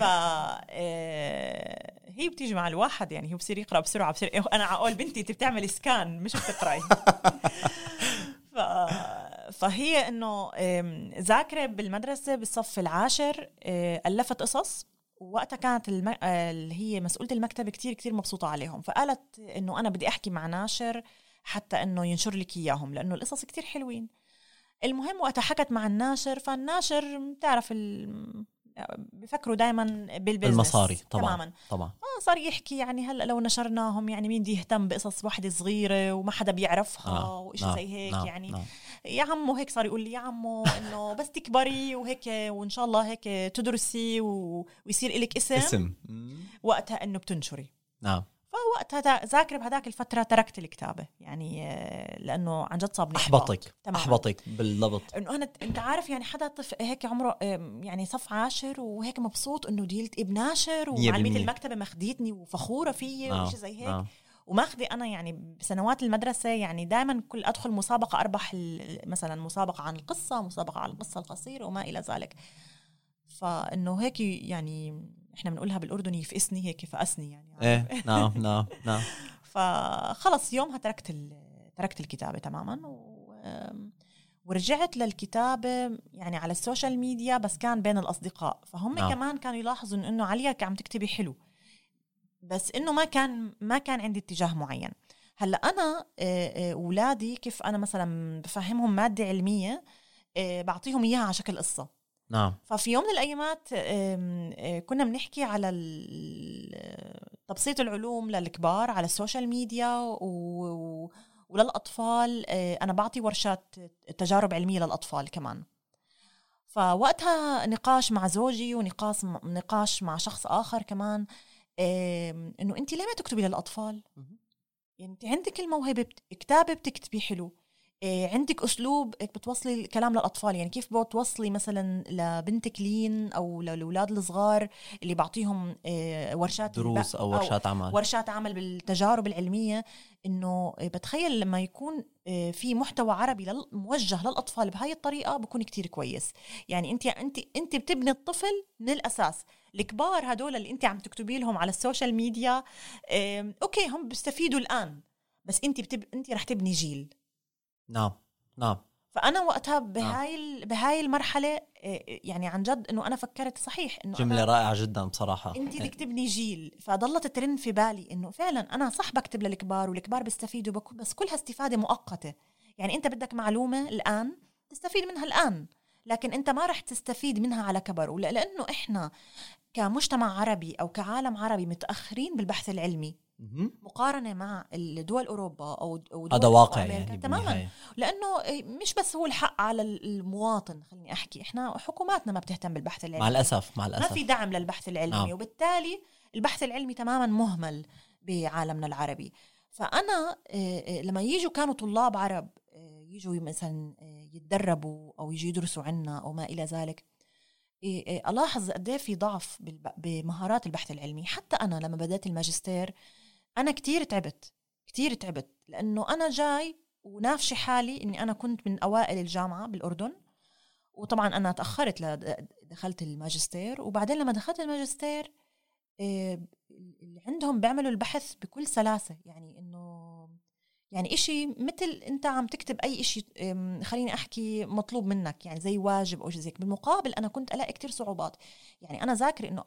Speaker 3: هي بتيجي مع الواحد يعني، هو بصير يقرأ بسرعة، بصير أنا عقول بنتي أنت بتعمل سكان مش بتقرأي. فهي انه ذاكره بالمدرسه بالصف العاشر الفت قصص، ووقتها كانت اللي هي مسؤولة المكتب كتير مبسوطة عليهم، فقالت إنه أنا بدي أحكي مع ناشر حتى إنه ينشر لك إياهم لأنه القصص كتير حلوين. المهم وقتها حكت مع الناشر، فالناشر تعرف بيفكروا دايما بالبزنس
Speaker 1: المصاري طبعا.
Speaker 3: صار يحكي يعني هلا لو نشرناهم يعني مين بده يهتم بقصص واحدة صغيرة وما حدا بيعرفها وإيش زي هيك يعني يا عمو هيك صار يقول لي يا عمو إنه بس تكبري وهيك وإن شاء الله هيك تدرسي ويصير إلك اسم وقتها إنه بتنشري. فوقتها ذاكر بهداك الفترة تركت الكتابة يعني لأنه عن جد صابني
Speaker 1: أحبطك بالضبط.
Speaker 3: إنه أنت عارف يعني حدا طفل هيك عمره يعني صف عاشر وهيك مبسوط إنه ديلت ابن ناشر ومعلمية المكتبة مخديتني وفخورة فيه وإيش زي هيك وماخذي أنا يعني بسنوات المدرسة يعني دائما كل أدخل مسابقة أربح مثلا مسابقة عن القصة، مسابقة عن القصة القصيرة وما إلى ذلك. فإنه هيك يعني إحنا بنقولها بالأردني يفقسني هيك فقسني يعني
Speaker 1: إيه نعم.
Speaker 3: فخلص يومها تركت الكتابة تماما ورجعت للكتابة يعني على السوشيال ميديا، بس كان بين الأصدقاء، فهم كمان كانوا يلاحظوا إنه عليا عم تكتبي حلو، بس إنه ما كان عندي اتجاه معين. هلا أنا أولادي كيف أنا مثلا بفهمهم مادة علمية بعطيهم إياها على شكل قصة. ففي يوم من الأيامات كنا بنحكي على تبسيط العلوم للكبار على السوشيال ميديا وللأطفال. أنا بعطي ورشات تجارب علمية للأطفال كمان. فوقتها نقاش مع زوجي ونقاش مع شخص آخر كمان إنه أنت ليه ما تكتبي للأطفال؟ يعني أنت عندك الموهبة كتابة بتكتبي حلو، عندك أسلوب بتوصلي الكلام للأطفال، يعني كيف بتوصلي مثلا لبنتك لين أو للأولاد الصغار اللي بعطيهم ورشات
Speaker 1: دروس أو
Speaker 3: ورشات عمل بالتجارب العلمية، إنه بتخيل لما يكون في محتوى عربي موجه للأطفال بهاي الطريقة بكون كتير كويس. يعني أنت بتبني الطفل من الأساس. الكبار هدول اللي أنت عم تكتبي لهم على السوشيال ميديا أوكي هم بيستفيدوا الآن، بس أنت رح تبني جيل.
Speaker 1: نعم.
Speaker 3: فأنا وقتها بهاي المرحلة يعني عن جد إنه أنا فكرت صحيح إنه
Speaker 1: جملة رائعة جدا بصراحة،
Speaker 3: أنت بدك تبني جيل. فضلت ترن في بالي إنه فعلا أنا صح بكتب للكبار والكبار بيستفيدوا بس كلها استفادة مؤقتة. يعني أنت بدك معلومة الآن تستفيد منها الآن، لكن أنت ما رح تستفيد منها على كبر. لأنه إحنا كمجتمع عربي أو كعالم عربي متأخرين بالبحث العلمي مقارنة مع الدول أوروبا أو دول
Speaker 1: هذا واقع يعني
Speaker 3: تماما. لأنه مش بس هو الحق على المواطن، خليني أحكي إحنا حكوماتنا ما بتهتم بالبحث العلمي،
Speaker 1: مع الأسف
Speaker 3: ما في دعم للبحث العلمي وبالتالي البحث العلمي تماما مهمل بعالمنا العربي. فأنا لما يجوا كانوا طلاب عرب يجوا مثلا يتدربوا أو يجوا يدرسوا عنا أو ما إلى ذلك، ألاحظ قد ايه في ضعف بمهارات البحث العلمي. حتى أنا لما بدأت الماجستير أنا كتير تعبت لأنه أنا جاي ونافشي حالي إني أنا كنت من أوائل الجامعة بالأردن، وطبعا أنا تأخرت دخلت الماجستير. وبعدين لما دخلت الماجستير اللي عندهم بيعملوا البحث بكل سلاسة، يعني إنه يعني إشي مثل أنت عم تكتب أي إشي خليني أحكي مطلوب منك، يعني زي واجب أو شيء زيك. بالمقابل أنا كنت ألاقي كتير صعوبات. يعني أنا ذاكر إنه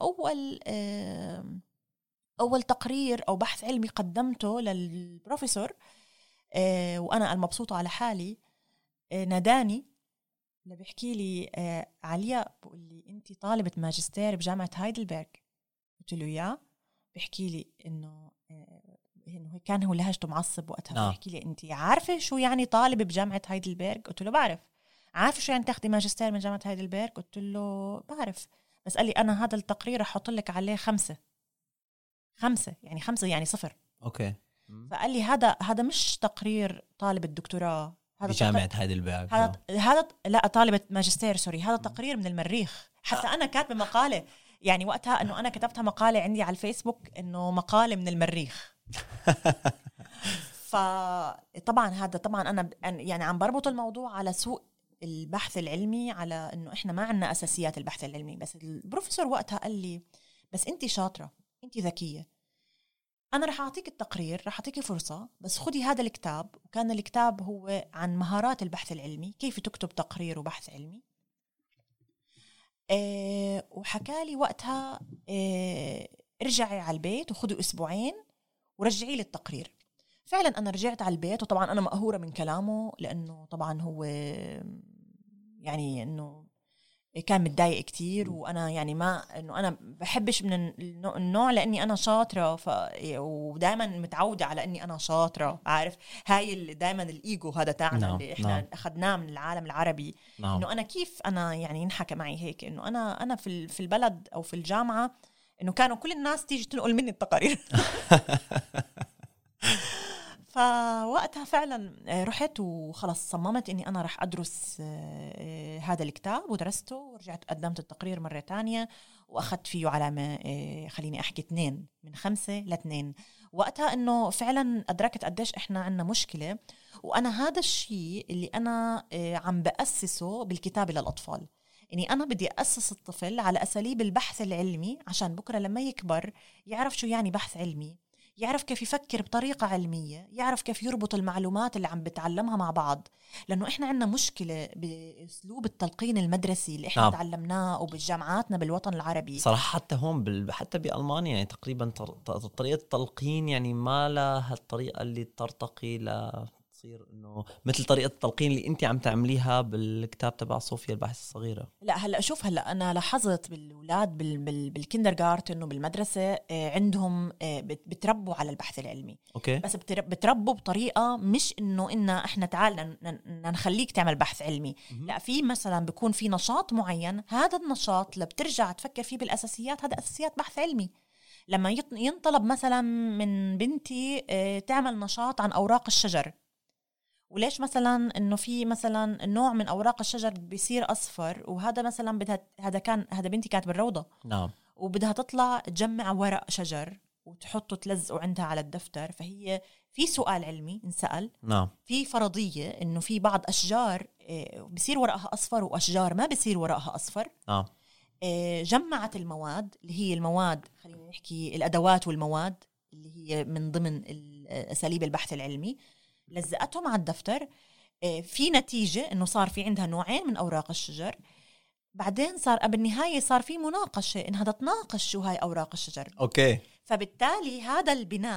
Speaker 3: أول تقرير أو بحث علمي قدمته للبروفيسور وأنا المبسوطة على حالي ناداني اللي بيحكي لي علياء، بقول لي أنت طالبة ماجستير بجامعة هايدلبرغ. قلت له يا، بيحكي لي إنه كان هو لهجته معصب وقتها. بيحكي لي أنت عارفة شو يعني طالبة بجامعة هايدلبرغ؟ قلت له بعرف. عارفة شو يعني تاخدي ماجستير من جامعة هايدلبرغ؟ قلت له بعرف. بس قال لي أنا هذا التقرير رح أحط لك عليه 5 يعني 0.
Speaker 1: أوكي.
Speaker 3: فقال لي هذا مش تقرير طالب الدكتوراه، هذا
Speaker 1: بجامعة هايدلبرغ.
Speaker 3: هذا لا طالبة ماجستير سوري، هذا تقرير من المريخ. حتى أنا كاتبة مقالة يعني وقتها إنه أنا كتبتها مقالة عندي على الفيسبوك إنه مقالة من المريخ. فطبعا هذا طبعا أنا يعني عم بربط الموضوع على سوء البحث العلمي، على إنه إحنا ما عنا أساسيات البحث العلمي. بس البروفيسور وقتها قال لي بس أنت شاطرة، أنت ذكية، أنا رح أعطيك التقرير، رح أعطيك فرصة، بس خدي هذا الكتاب. وكان الكتاب هو عن مهارات البحث العلمي، كيف تكتب تقرير وبحث علمي. وحكالي وقتها ارجعي على البيت وخدي أسبوعين ورجعي لي التقرير. فعلا أنا رجعت على البيت، وطبعا أنا مقهورة من كلامه، لأنه طبعا هو يعني أنه كان متضايق كتير. وأنا يعني ما أنه أنا بحبش من النوع لأني أنا شاطرة، ودائما متعودة على أني أنا شاطرة، عارف هاي دائما الإيجو هذا تاعنا اللي إحنا أخذناه من العالم العربي. أنه أنا كيف أنا يعني ينحكى معي هيك، أنه أنا في البلد أو في الجامعة إنه كانوا كل الناس تيجي تنقل مني التقارير. فوقتها فعلا رحت وخلص صممت إني أنا رح أدرس هذا الكتاب، ودرسته ورجعت قدمت التقرير مرة تانية وأخذت فيه علامة خليني أحكي 2 من 5 ل2. وقتها إنه فعلا أدركت قديش إحنا عنا مشكلة. وأنا هذا الشيء اللي أنا عم بأسسه بالكتابة للأطفال، إني أنا بدي أسس الطفل على أساليب البحث العلمي، عشان بكرة لما يكبر يعرف شو يعني بحث علمي، يعرف كيف يفكر بطريقة علمية، يعرف كيف يربط المعلومات اللي عم بتعلمها مع بعض. لأنه إحنا عنا مشكلة بأسلوب التلقين المدرسي اللي إحنا تعلمناه وبالجامعاتنا بالوطن العربي.
Speaker 1: صراحة حتى هون حتى بألمانيا يعني تقريبا طريقة التلقين يعني ما لها الطريقة اللي ترتقي تصير انه مثل طريقه التلقين اللي انت عم تعمليها بالكتاب تبع صوفيا الباحث الصغيره.
Speaker 3: لا هلا شوف، هلا انا لاحظت بالاولاد بالكندرغارتن انه بالمدرسه عندهم بتربوا على البحث العلمي.
Speaker 1: اوكي.
Speaker 3: بس بتربوا بطريقه مش انه احنا تعال نخليك تعمل بحث علمي. لا، في مثلا بيكون في نشاط معين، هذا النشاط اللي بترجع تفكر فيه بالاساسيات، هذا اساسيات بحث علمي. لما ينطلب مثلا من بنتي تعمل نشاط عن اوراق الشجر، وليش مثلا انه في مثلا نوع من اوراق الشجر بيصير اصفر، وهذا مثلا هذا بنتي كانت بالروضه.
Speaker 1: نعم.
Speaker 3: وبدها تطلع تجمع ورق شجر وتحطه تلزقه عندها على الدفتر. فهي في سؤال علمي انسأل.
Speaker 1: نعم.
Speaker 3: في فرضيه انه في بعض اشجار بيصير ورقها اصفر واشجار ما بيصير ورقها اصفر.
Speaker 1: نعم.
Speaker 3: جمعت المواد اللي هي المواد، خلينا نحكي الادوات والمواد اللي هي من ضمن اساليب البحث العلمي، لزقتهم على الدفتر. في نتيجة إنه صار في عندها نوعين من أوراق الشجر. بعدين صار بالنهاية صار في مناقشة إنها تتناقش شو هاي أوراق الشجر.
Speaker 1: أوكي.
Speaker 3: فبالتالي هذا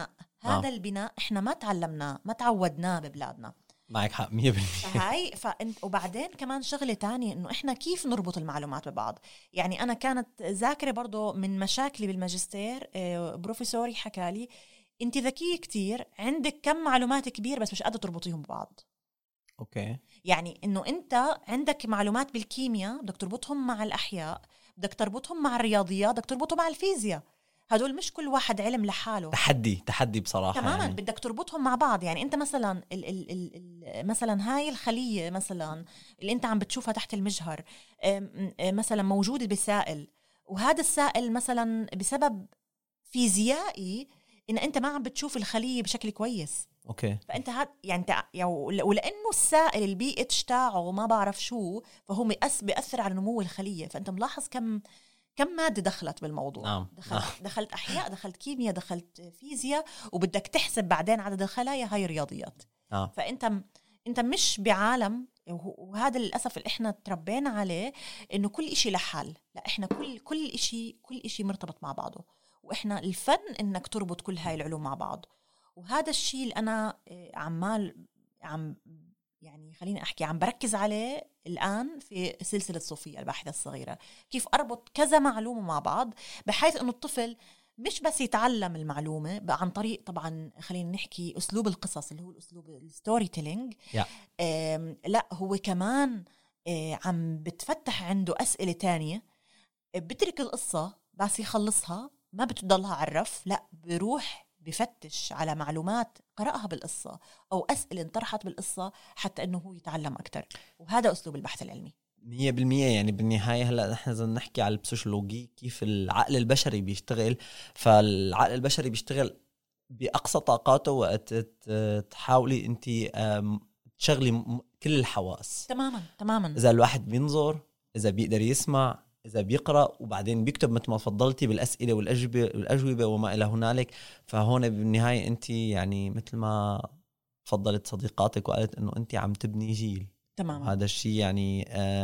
Speaker 3: البناء إحنا ما تعلمناه، ما تعودناه ببلادنا.
Speaker 1: معك حق 100%.
Speaker 3: هاي وبعدين كمان شغلة تانية إنه إحنا كيف نربط المعلومات ببعض. يعني أنا كانت ذاكرة برضو من مشاكلي بالماجستير. بروفيسوري حكالي انت ذكية كتير، عندك كم معلومات كبير بس مش قادرة تربطيهم ببعض.
Speaker 1: اوكي.
Speaker 3: يعني انه انت عندك معلومات بالكيمياء بدك تربطهم مع الاحياء، بدك تربطهم مع الرياضيات، بدك تربطهم مع الفيزياء. هدول مش كل واحد علم لحاله.
Speaker 1: تحدي بصراحة
Speaker 3: تماما
Speaker 1: يعني.
Speaker 3: بدك تربطهم مع بعض. يعني انت مثلا مثلا هاي الخلية مثلا اللي انت عم بتشوفها تحت المجهر مثلا موجودة بسائل، وهذا السائل مثلا بسبب فيزيائي إن أنت ما عم بتشوف الخلية بشكل كويس.
Speaker 1: أوكي.
Speaker 3: فأنت ولأنه السائل البي اتش تاعه ما بعرف شو، فهو بيأثر على نمو الخلية. فأنت ملاحظ كم مادة دخلت بالموضوع.
Speaker 1: نعم.
Speaker 3: دخلت أحياء، دخلت كيمياء، دخلت فيزياء، وبدك تحسب بعدين عدد الخلايا، هاي رياضيات. فأنت مش بعالم، وهذا للأسف اللي إحنا تربينا عليه، إنه كل إشي لحال. لا، إحنا كل إشي مرتبط مع بعضه، وإحنا الفن إنك تربط كل هاي العلوم مع بعض. وهذا الشيء اللي أنا يعني خليني أحكي عم بركز عليه الآن في سلسلة صوفيا الباحثة الصغيرة، كيف أربط كذا معلومة مع بعض بحيث إنه الطفل مش بس يتعلم المعلومة عن طريق طبعا خلينا نحكي أسلوب القصص اللي هو الأسلوب الستوري تيلينج. لا، هو كمان عم بتفتح عنده أسئلة تانية. بترك القصة بس يخلصها ما بتضلها عرف، لا بروح بفتش على معلومات قرأها بالقصة أو أسئلة انطرحت بالقصة حتى أنه هو يتعلم أكتر. وهذا أسلوب البحث العلمي
Speaker 1: 100%. يعني بالنهاية هلأ نحن إذا نحكي على البسيكولوجي كيف العقل البشري بيشتغل، فالعقل البشري بيشتغل بأقصى طاقاته وقت تحاولي أنت تشغلي كل الحواس.
Speaker 3: تماما.
Speaker 1: إذا الواحد بينظر، إذا بيقدر يسمع، إذا بيقرأ وبعدين بيكتب مثل ما تفضلتي بالأسئلة والأجوبة وما إلى هنالك، فهون بالنهاية أنت يعني مثل ما فضلت صديقاتك وقالت إنه أنت عم تبني جيل.
Speaker 3: تمام.
Speaker 1: هذا الشيء يعني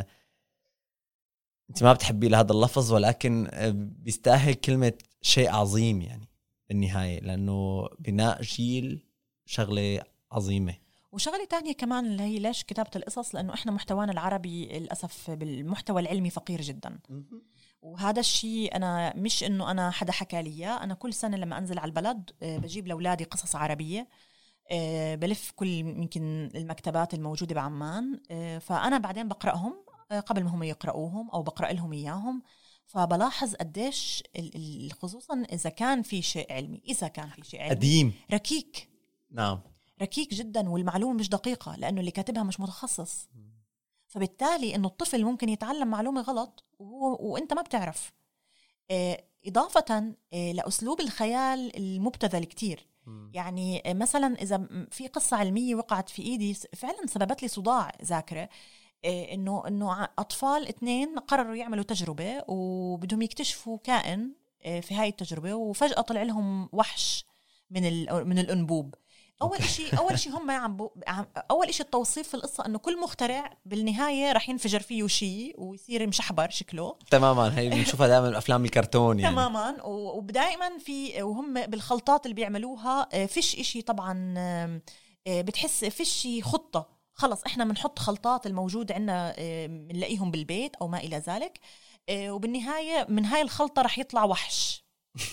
Speaker 1: أنت ما بتحبي لهذا اللفظ، ولكن بيستاهل كلمة شيء عظيم يعني بالنهاية، لأنه بناء جيل شغلة عظيمة.
Speaker 3: وشغلة تانية كمان اللي هي ليش كتابة القصص، لأنه إحنا محتوانا العربي للأسف بالمحتوى العلمي فقير جدا. وهذا الشيء أنا مش إنه أنا حدا حكى لي، أنا كل سنة لما أنزل على البلد بجيب لأولادي قصص عربية، بلف كل يمكن المكتبات الموجودة بعمان، فأنا بعدين بقرأهم قبل ما هم يقرأوهم أو بقرأ لهم إياهم. فبلاحظ قديش خصوصا إذا كان في شيء علمي،
Speaker 1: قديم
Speaker 3: ركيك.
Speaker 1: نعم،
Speaker 3: ركيك جدا، والمعلومة مش دقيقة لأنه اللي كاتبها مش متخصص. فبالتالي إنه الطفل ممكن يتعلم معلومة غلط وإنت ما بتعرف. إضافة لأسلوب الخيال المبتذل كتير. يعني مثلا إذا في قصة علمية وقعت في إيدي فعلا سببت لي صداع ذاكرة، إنه أطفال 2 قرروا يعملوا تجربة وبدهم يكتشفوا كائن في هاي التجربة، وفجأة طلع لهم وحش من الأنبوب. أول شيء هم أول شيء التوصيف في القصة إنه كل مخترع بالنهاية راح ينفجر فيه شيء ويصير مشحبر شكله.
Speaker 1: تماما، هي بنشوفها دائما بأفلام الكرتون يعني.
Speaker 3: تماما. ودائما وهم بالخلطات اللي بيعملوها فيش إشي طبعا، بتحس فيش خطة، خلص إحنا بنحط خلطات الموجودة عنا بنلاقيهم بالبيت أو ما إلى ذلك، وبالنهاية من هاي الخلطة راح يطلع وحش.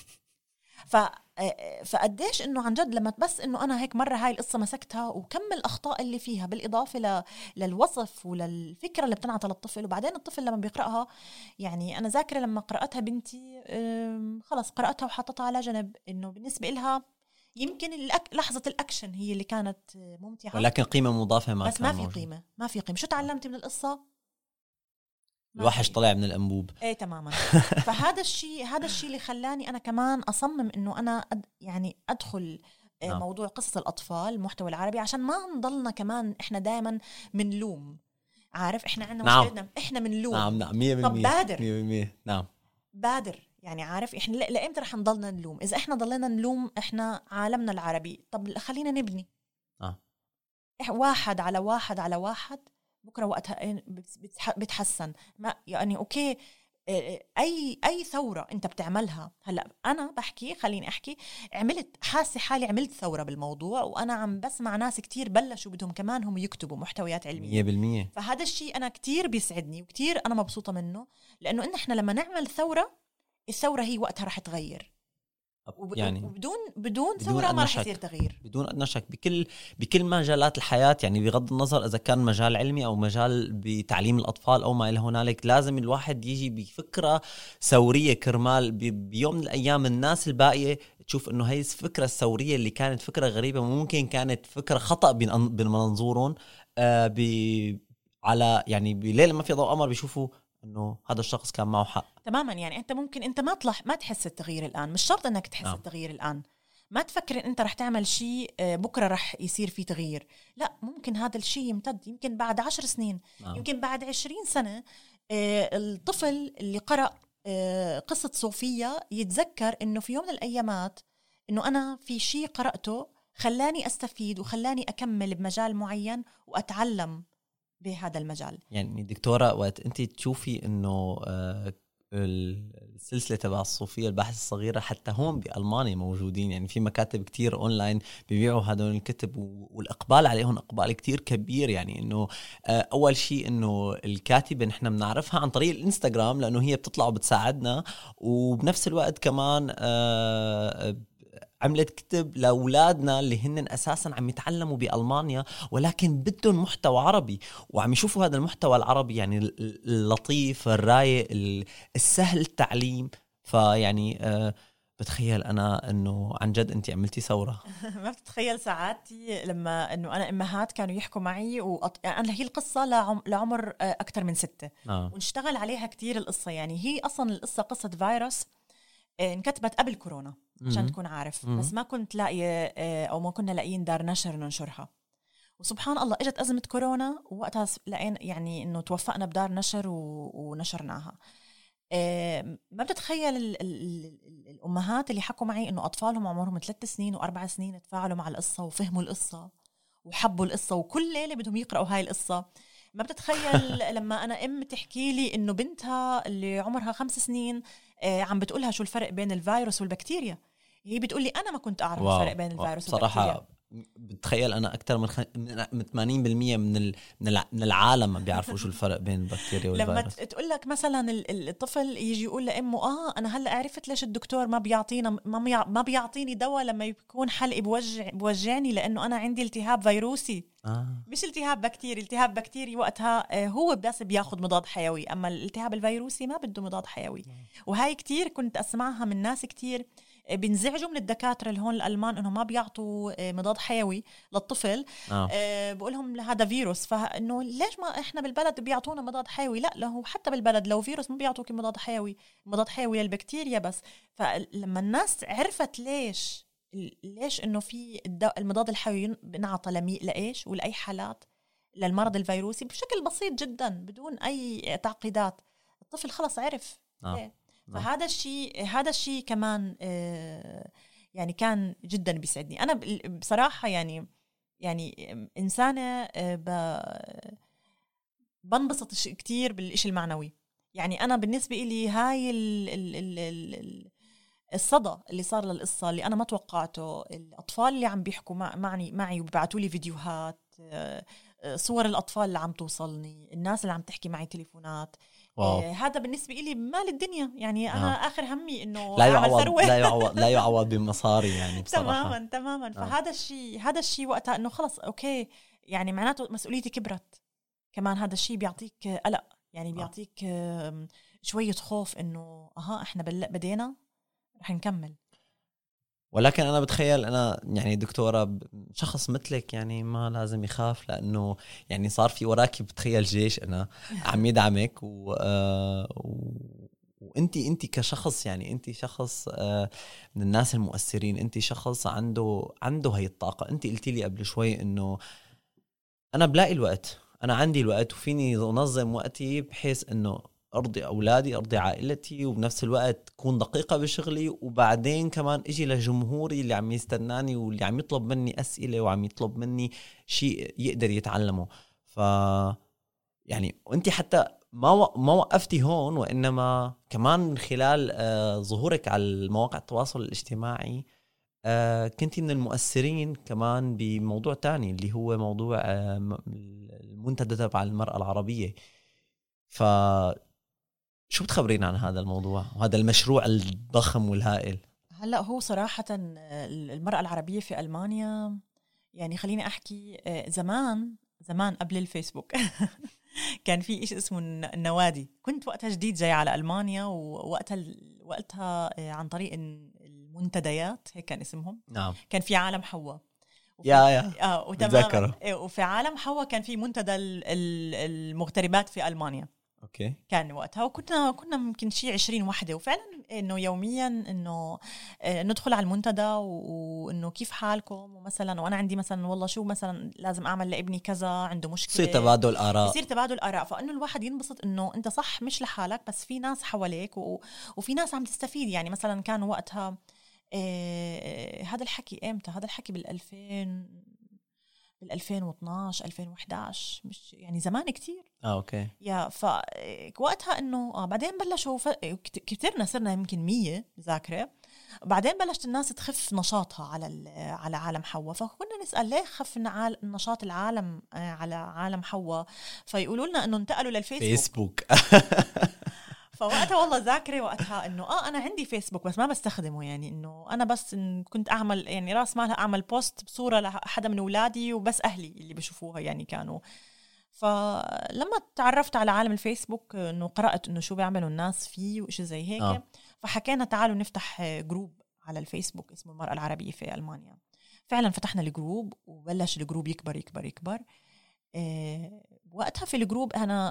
Speaker 3: فقديش إنه عن جد لما بس إنه أنا هيك مرة هاي القصة مسكتها وكم الأخطاء اللي فيها بالإضافة للوصف وللفكرة اللي بتنعطى للطفل، وبعدين الطفل لما بيقرأها، يعني أنا ذاكرة لما قرأتها بنتي خلص قرأتها وحطتها على جنب، إنه بالنسبة إلها يمكن لحظة الأكشن هي اللي كانت ممتعة،
Speaker 1: ولكن قيمة مضافة
Speaker 3: بس ما في قيمة. شو تعلمتي من القصة؟
Speaker 1: الوحش طلع من الأنبوب.
Speaker 3: ايه تماما. فهذا الشيء اللي خلاني أنا كمان أصمم إنه أنا يعني أدخل موضوع قصص الأطفال المحتوى العربي، عشان ما نضلنا كمان إحنا دائما منلوم. عارف إحنا عندنا مشكلتنا، إحنا منلوم.
Speaker 1: نعم 100%.
Speaker 3: طب بادر
Speaker 1: 100%. نعم
Speaker 3: بادر. يعني عارف إحنا لإمتى رح نضلنا نلوم؟ إذا إحنا ضلنا نلوم إحنا عالمنا العربي، طب خلينا نبني واحد على واحد على واحد، بكرة وقتها بتحسن. ما يعني أوكي، أي ثورة أنت بتعملها هلأ، أنا بحكي خليني أحكي، حاسة حالي عملت ثورة بالموضوع، وأنا عم بسمع ناس كتير بلشوا بدهم كمان هم يكتبوا محتويات علمية
Speaker 1: 100%.
Speaker 3: فهذا الشيء أنا كتير بيسعدني وكتير أنا مبسوطة منه، لأنه إن إحنا لما نعمل ثورة، الثورة هي وقتها رح تغير، يعني بدون ثورة ما رح يصير تغيير،
Speaker 1: بدون أدنى شك بكل مجالات الحياة. يعني بغض النظر إذا كان مجال علمي أو مجال بتعليم الأطفال أو ما إلى هنالك، لازم الواحد يجي بفكرة ثورية كرمال بيوم من الأيام الناس الباقية تشوف إنه هاي الفكرة الثورية اللي كانت فكرة غريبة ممكن كانت فكرة خطأ بمنظورهم على يعني بليلة ما في ضوء قمر بيشوفوا إنه هذا الشخص كان معه حق
Speaker 3: تماما. يعني أنت ممكن أنت ما تحس التغيير الآن، مش شرط أنك تحس التغيير الآن، ما تفكر إن أنت رح تعمل شيء بكرة رح يصير فيه تغيير، لا، ممكن هذا الشيء يمتد، يمكن بعد 10 سنين، يمكن بعد 20 سنة الطفل اللي قرأ قصة صوفيا يتذكر إنه في يوم من الأيامات إنه أنا في شيء قرأته خلاني أستفيد وخلاني أكمل بمجال معين وأتعلم بهذا المجال.
Speaker 1: يعني دكتورة، وقت أنت تشوفي إنه السلسلة تبع الصوفية الباحث الصغيرة حتى هون بألمانيا موجودين، يعني في مكاتب كتير أونلاين بيبيعوا هدول الكتب، والإقبال عليهم إقبال كتير كبير. يعني إنه أول شيء إنه الكاتبة نحن بنعرفها عن طريق الإنستغرام لأنه هي بتطلع وبتساعدنا، وبنفس الوقت كمان عملت كتب لأولادنا اللي هن أساساً عم يتعلموا بألمانيا ولكن بدهم محتوى عربي، وعم يشوفوا هذا المحتوى العربي يعني اللطيف الرايق السهل التعليم. فيعني بتخيل أنا أنه عن جد أنت عملتي ثورة.
Speaker 3: ما بتتخيل ساعاتي لما أنه أنا أمهات كانوا يحكوا معي أنا هي القصة لعمر أكتر من 6 ونشتغل عليها كتير القصة. يعني هي أصلاً القصة قصة فيروس انكتبت قبل كورونا عشان تكون عارف، بس ما كنت لاقية أو ما كنا لاقيين دار نشر ننشرها، وسبحان الله اجت أزمة كورونا ووقتها لقينا يعني إنه توفقنا بدار نشر ونشرناها. ما بتتخيل الأمهات اللي حكوا معي إنه أطفالهم عمرهم 3 سنين و4 سنين تفاعلوا مع القصة وفهموا القصة وحبوا القصة وكل ليلة بدهم يقرأوا هاي القصة. ما بتتخيل لما أنا تحكي لي إنه بنتها اللي عمرها 5 سنين عم بتقولها شو الفرق بين الفيروس والبكتيريا. هي بتقولي أنا ما كنت أعرف الفرق بين الفيروس والبكتيريا.
Speaker 1: صراحة بتخيل أنا أكتر من 80% من العالم ما بيعرفوا شو الفرق بين البكتيريا والفيروس.
Speaker 3: لما تقول لك مثلا الطفل يجي يقول لأمه أنا هلأ عرفت ليش الدكتور ما بيعطيني دواء لما يكون حلقي بوجعني لأنه أنا عندي التهاب فيروسي. مش التهاب بكتيري. التهاب بكتيري وقتها هو بس بياخد مضاد حيوي، أما الالتهاب الفيروسي ما بده مضاد حيوي. وهاي كتير كنت أسمعها من ناس كتير بينزعجوا من الدكاترة اللي هون الألمان إنه ما بيعطوا مضاد حيوي للطفل. بقولهم هذا فيروس، فإنه ليش ما إحنا بالبلد بيعطونا مضاد حيوي؟ لا هو حتى بالبلد لو فيروس ما بيعطوك مضاد حيوي للبكتيريا بس. فلما الناس عرفت ليش إنه في المضاد الحيوي بنعطى لإيش ولأي حالات للمرض الفيروسي بشكل بسيط جدا بدون أي تعقيدات، الطفل خلص عرف. فهذا الشيء كمان يعني كان جدا بيسعدني. أنا بصراحة يعني إنسانة بنبسط كتير بالإشي المعنوي. يعني أنا بالنسبة إلي هاي الصدى اللي صار للقصة اللي أنا ما توقعته، الأطفال اللي عم بيحكوا معي وبيبعتوا لي فيديوهات، صور الأطفال اللي عم توصلني، الناس اللي عم تحكي معي تليفونات. هذا بالنسبة إلي مال الدنيا. يعني أنا آخر همي إنه
Speaker 1: لا يعوض بمصاري يعني بصراحة.
Speaker 3: تماما. فهذا الشيء وقتها إنه خلص أوكي، يعني معناته مسؤوليتي كبرت. كمان هذا الشيء بيعطيك قلق، يعني بيعطيك شوية خوف إنه إحنا بدينا رح نكمل.
Speaker 1: ولكن أنا بتخيل أنا يعني دكتورة شخص مثلك يعني ما لازم يخاف، لأنه يعني صار في وراكي بتخيل جيش أنا عم يدعمك وأنتي كشخص، يعني أنتي شخص من الناس المؤثرين، أنتي شخص عنده هاي الطاقة. أنتي قلتي لي قبل شوي إنه أنا بلاقي الوقت، أنا عندي الوقت وفيني أنظم وقتي بحيث إنه أرضي أولادي أرضي عائلتي وبنفس الوقت تكون دقيقة بشغلي، وبعدين كمان إجي لجمهوري اللي عم يستناني واللي عم يطلب مني أسئلة وعم يطلب مني شيء يقدر يتعلمه. يعني وأنت حتى ما وقفتي هون، وإنما كمان من خلال ظهورك على مواقع التواصل الاجتماعي كنتي من المؤثرين كمان بموضوع تاني اللي هو موضوع المنتدى تبع المرأة العربية. شو بتخبرين عن هذا الموضوع وهذا المشروع الضخم والهائل؟
Speaker 3: هلأ هو صراحة المرأة العربية في ألمانيا، يعني خليني أحكي زمان قبل الفيسبوك كان في إيش اسمه النوادي. كنت وقتها جديد جاي على ألمانيا، وقتها عن طريق المنتديات هيك كان اسمهم.
Speaker 1: نعم.
Speaker 3: كان في عالم حواء
Speaker 1: بتذكره.
Speaker 3: وفي عالم حواء كان في منتدى المغتربات في ألمانيا.
Speaker 1: اوكي.
Speaker 3: كان وقتها وكنا ممكن شيء 20 وحده، وفعلا انه يوميا انه ندخل على المنتدى وانه كيف حالكم، ومثلا وانا عندي مثلا والله شو مثلا لازم اعمل لابني كذا، عنده مشكله،
Speaker 1: يصير تبادل اراء.
Speaker 3: فانه الواحد ينبسط انه انت صح مش لحالك بس في ناس حواليك وفي ناس عم تستفيد. يعني مثلا كان وقتها هذا الحكي امتى؟ هذا الحكي بال 2012 2011، مش يعني زمان كتير.
Speaker 1: اوكي.
Speaker 3: يا فوقتها انه بعدين بلشوا كترنا، صرنا يمكن 100 ذاكره. بعدين بلشت الناس تخف نشاطها على عالم حواء، فكنا نسال ليه خف نشاط العالم على عالم حواء، فيقولوا لنا انه انتقلوا للفيسبوك. فوقتها والله ذاكرة وقتها انه انا عندي فيسبوك بس ما بستخدمه. يعني انه انا بس كنت اعمل يعني راس مالها اعمل بوست بصورة لحدا من اولادي وبس اهلي اللي بيشوفوها يعني كانوا. فلما تعرفت على عالم الفيسبوك انه قرأت انه شو بيعملوا الناس فيه وإشي زي هيك فحكينا تعالوا نفتح جروب على الفيسبوك اسمه المرأة العربية في ألمانيا. فعلا فتحنا الجروب وبلش الجروب يكبر يكبر يكبر. وقتها في الجروب انا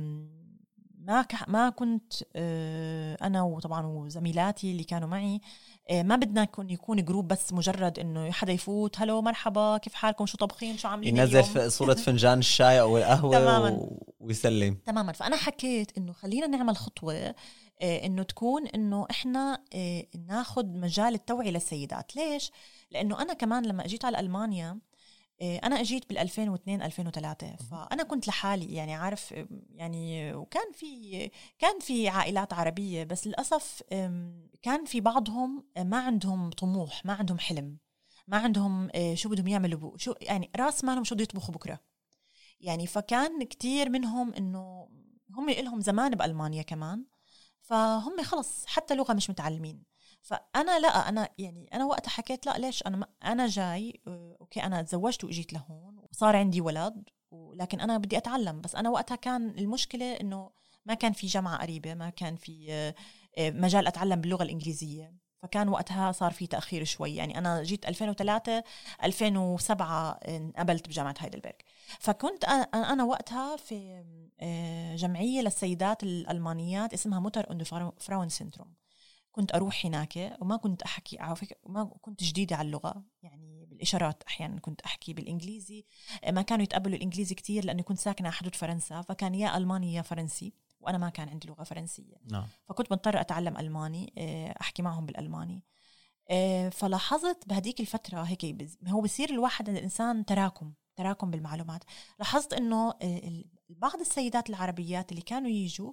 Speaker 3: ما كنت أنا وطبعا وزميلاتي اللي كانوا معي ما بدنا يكون جروب بس مجرد إنه حدا يفوت هلو مرحبا كيف حالكم شو طبخين شو عاملين
Speaker 1: ينزل صورة فنجان الشاي أو القهوة ويسلم.
Speaker 3: تماما. فأنا حكيت إنه خلينا نعمل خطوة إنه تكون إنه إحنا ناخد مجال التوعية للسيدات. ليش؟ لأنه أنا كمان لما أجيت على ألمانيا، أنا أجيت بال2002-2003، فأنا كنت لحالي يعني عارف يعني، وكان في عائلات عربية، بس للأسف كان في بعضهم ما عندهم طموح، ما عندهم حلم، ما عندهم شو بدهم يعملوا، شو يعني راس مالهم شو بده يطبخوا بكرة يعني. فكان كتير منهم إنه هم لهم زمان بألمانيا كمان، فهم خلص حتى لغة مش متعلمين. فأنا لا، أنا وقتها حكيت لا، ليش أنا جاي أوكي، أنا تزوجت وإجيت لهون وصار عندي ولد، لكن أنا بدي أتعلم. بس أنا وقتها كان المشكلة إنه ما كان في جامعة قريبة، ما كان في مجال أتعلم باللغة الإنجليزية، فكان وقتها صار في تأخير شوي. يعني أنا جيت 2003 2007 انقبلت بجامعة هايدلبرغ. فكنت أنا وقتها في جمعية للسيدات الألمانيات اسمها موتر und فراون سيندروم. كنت أروح هناك وما كنت أحكي، ما كنت جديدة على اللغة، يعني بالإشارات أحيانا كنت أحكي بالإنجليزي. ما كانوا يتقبلوا الإنجليزي كتير لأني كنت ساكنة على حدود فرنسا، فكان يا ألماني يا فرنسي، وأنا ما كان عندي لغة فرنسية. فكنت مضطرة أتعلم ألماني، أحكي معهم بالألماني. فلاحظت بهديك الفترة هيك هو بصير الإنسان تراكم بالمعلومات. لاحظت إنه بعض السيدات العربيات اللي كانوا يجوا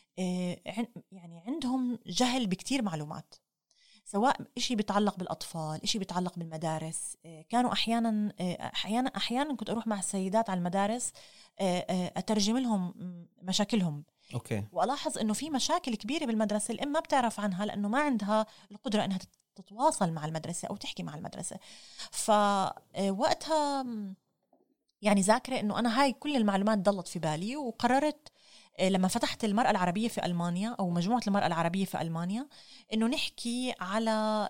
Speaker 3: يعني عندهم جهل بكتير معلومات، سواء إشي بيتعلق بالأطفال، إشي بيتعلق بالمدارس. كانوا أحيانا كنت أروح مع السيدات على المدارس أترجم لهم مشاكلهم.
Speaker 1: أوكي.
Speaker 3: وألاحظ إنه في مشاكل كبيرة بالمدرسة الأم ما بتعرف عنها لأنه ما عندها القدرة إنها تتواصل مع المدرسة أو تحكي مع المدرسة. فوقتها يعني ذاكرة إنه أنا هاي كل المعلومات ضلت في بالي، وقررت لما فتحت المرأة العربية في ألمانيا أو مجموعة المرأة العربية في ألمانيا إنه نحكي على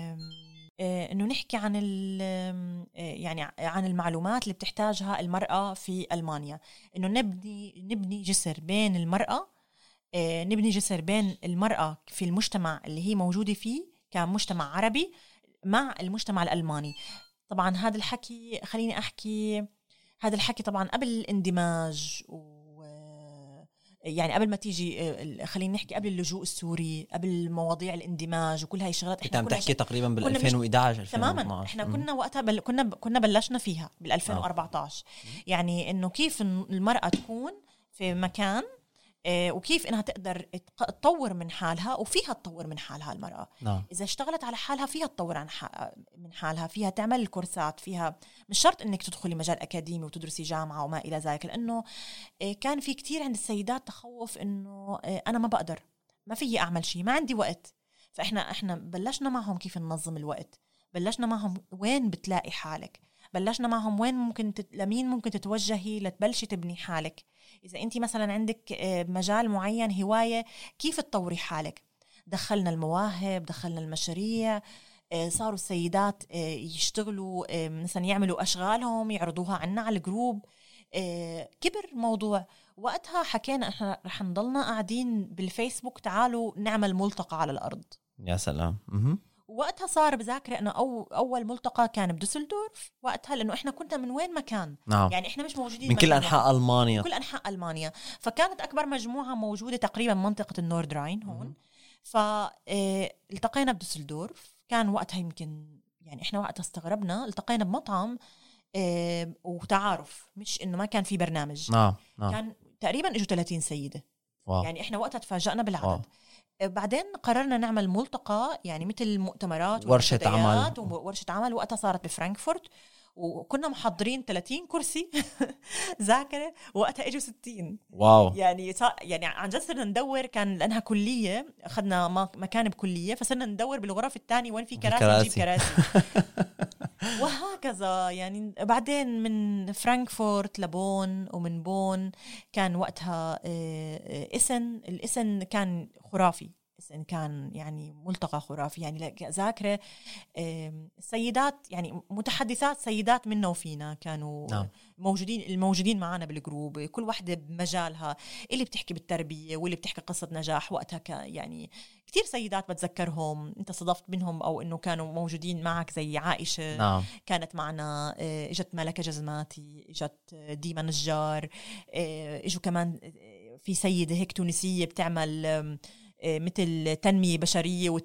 Speaker 3: إنه نحكي عن يعني عن المعلومات اللي بتحتاجها المرأة في ألمانيا، إنه نبني جسر بين المرأة، نبني جسر بين المرأة في المجتمع اللي هي موجودة فيه كمجتمع عربي مع المجتمع الألماني. طبعا هذا الحكي خليني أحكي، هذا الحكي طبعا قبل الاندماج، يعني قبل ما تيجي خلينا نحكي قبل اللجوء السوري، قبل مواضيع الاندماج وكل هاي الشغلات.
Speaker 1: احنا عم تحكي تقريبا بال 2011 2012.
Speaker 3: تماما احنا كنا وقتها كنا بلشنا فيها بال 2014. يعني انه كيف المرأة تكون في مكان وكيف انها تقدر تطور من حالها، وفيها تطور من حالها المرأة. اذا اشتغلت على حالها فيها تطور من حالها، فيها تعمل الكورسات، فيها مش شرط انك تدخلي مجال اكاديمي وتدرسي جامعة وما الى ذلك. لانه كان في كتير عند السيدات تخوف انه انا ما بقدر، ما فيي اعمل شيء، ما عندي وقت. فاحنا بلشنا معهم كيف ننظم الوقت، بلشنا معهم وين بتلاقي حالك، بلشنا معهم وين ممكن لمين ممكن تتوجهي لتبلشي تبني حالك. إذا أنت مثلا عندك مجال معين، هواية، كيف تطوري حالك. دخلنا المواهب، دخلنا المشاريع، صاروا السيدات يشتغلوا مثلا يعملوا أشغالهم يعرضوها عنا على الجروب. كبر موضوع. وقتها حكينا احنا رح نضلنا قاعدين بالفيسبوك، تعالوا نعمل ملتقى على الأرض.
Speaker 1: يا سلام.
Speaker 3: وقتها صار بذاكر انه اول ملتقى كان بدوسلدورف وقتها، لانه احنا كنا من وين ما كان. يعني احنا مش موجودين
Speaker 1: من كل انحاء المانيا،
Speaker 3: كل انحاء المانيا. فكانت اكبر مجموعه موجوده تقريبا منطقه النورد راين هون. فالتقينا بدوسلدورف. كان وقتها يمكن يعني احنا وقتها استغربنا، التقينا بمطعم وتعارف، مش انه ما كان في برنامج. كان تقريبا اجوا 30 سيده. يعني احنا وقتها تفاجأنا بالعدد. بعدين قررنا نعمل ملتقى، يعني مثل مؤتمرات
Speaker 1: ورشة
Speaker 3: عمل. وقتها صارت بفرانكفورت، وكنا محضرين 30 كرسي ذاكرة. وقتها اجوا 60.
Speaker 1: واو.
Speaker 3: يعني عن جد صرنا ندور، كان لأنها كلية، أخذنا مكان بكلية، فصرنا ندور بالغرف الثانية وين في كراسي نجيب كراسي. وهكذا. يعني بعدين من فرانكفورت لبون، ومن بون كان وقتها الاسن كان خرافي. كان يعني ملتقى خرافي. يعني ذاكرة السيدات، يعني متحدثات سيدات منا وفينا كانوا الموجودين معنا بالجروب، كل واحدة بمجالها، اللي بتحكي بالتربية واللي بتحكي قصة نجاح. وقتها يعني كتير سيدات بتذكرهم انت صدفت منهم او انه كانوا موجودين معك، زي عائشة. كانت معنا، اجت ملكة جزماتي، اجت ديما نجار، اجوا كمان في سيدة هيك تونسية بتعمل مثل تنمية بشرية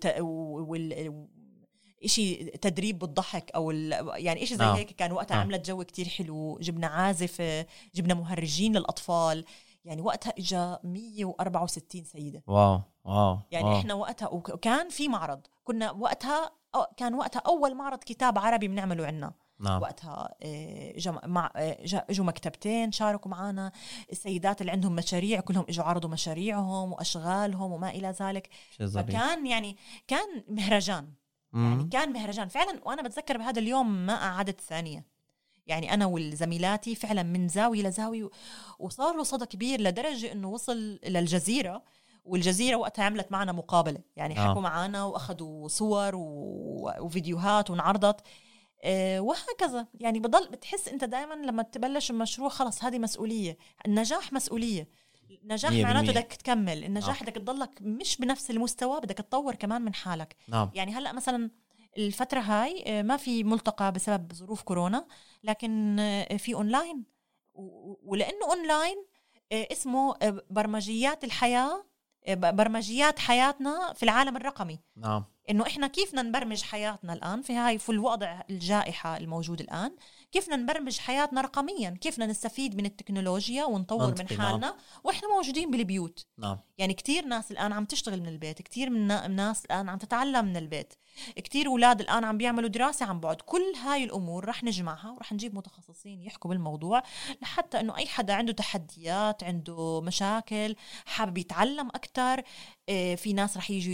Speaker 3: إشي تدريب بالضحك أو يعني إشي زي هيك. كان وقتها عملت جو كتير حلو، جبنا عازف، جبنا مهرجين للأطفال. يعني وقتها إجا 164 سيدة.
Speaker 1: واو
Speaker 3: يعني
Speaker 1: واو.
Speaker 3: إحنا وقتها وكان في معرض، كنا وقتها كان وقتها أول معرض كتاب عربي بنعمله عنا. وقتها اجوا مكتبتين شاركوا معنا، السيدات اللي عندهم مشاريع كلهم اجوا عرضوا مشاريعهم واشغالهم وما الى ذلك. فكان يعني كان مهرجان، يعني كان مهرجان فعلا. وانا بتذكر بهذا اليوم ما قعدت ثانيه، يعني انا والزميلاتي فعلا من زاويه لزاويه، وصار له صدى كبير لدرجه انه وصل للجزيره. والجزيرة وقتها عملت معنا مقابلة، يعني حكوا معنا وأخذوا صور وفيديوهات وانعرضت. وهكذا. يعني بتحس أنت دائما لما تبلش المشروع خلص هذه مسؤولية. النجاح مسؤولية. النجاح معناته بدك تكمل. النجاح بدك تضلك مش بنفس المستوى، بدك تطور كمان من حالك. يعني هلأ مثلا الفترة هاي ما في ملتقى بسبب ظروف كورونا، لكن في أونلاين. ولأنه أونلاين اسمه برمجيات الحياة، برمجيات حياتنا في العالم الرقمي. إنه إحنا كيف نبرمج حياتنا الآن في الوضع الجائحة الموجود الآن، كيف نبرمج حياتنا رقميا، كيف نستفيد من التكنولوجيا ونطور من حالنا وإحنا موجودين بالبيوت. يعني كتير ناس الآن عم تشتغل من البيت، كتير من الناس الآن عم تتعلم من البيت، كتير أولاد الآن عم بيعملوا دراسة عن بعد. كل هاي الأمور رح نجمعها ورح نجيب متخصصين يحكوا بالموضوع، لحتى إنه أي حدا عنده تحديات، عنده مشاكل، حابب يتعلم أكتر. في ناس رح يجوا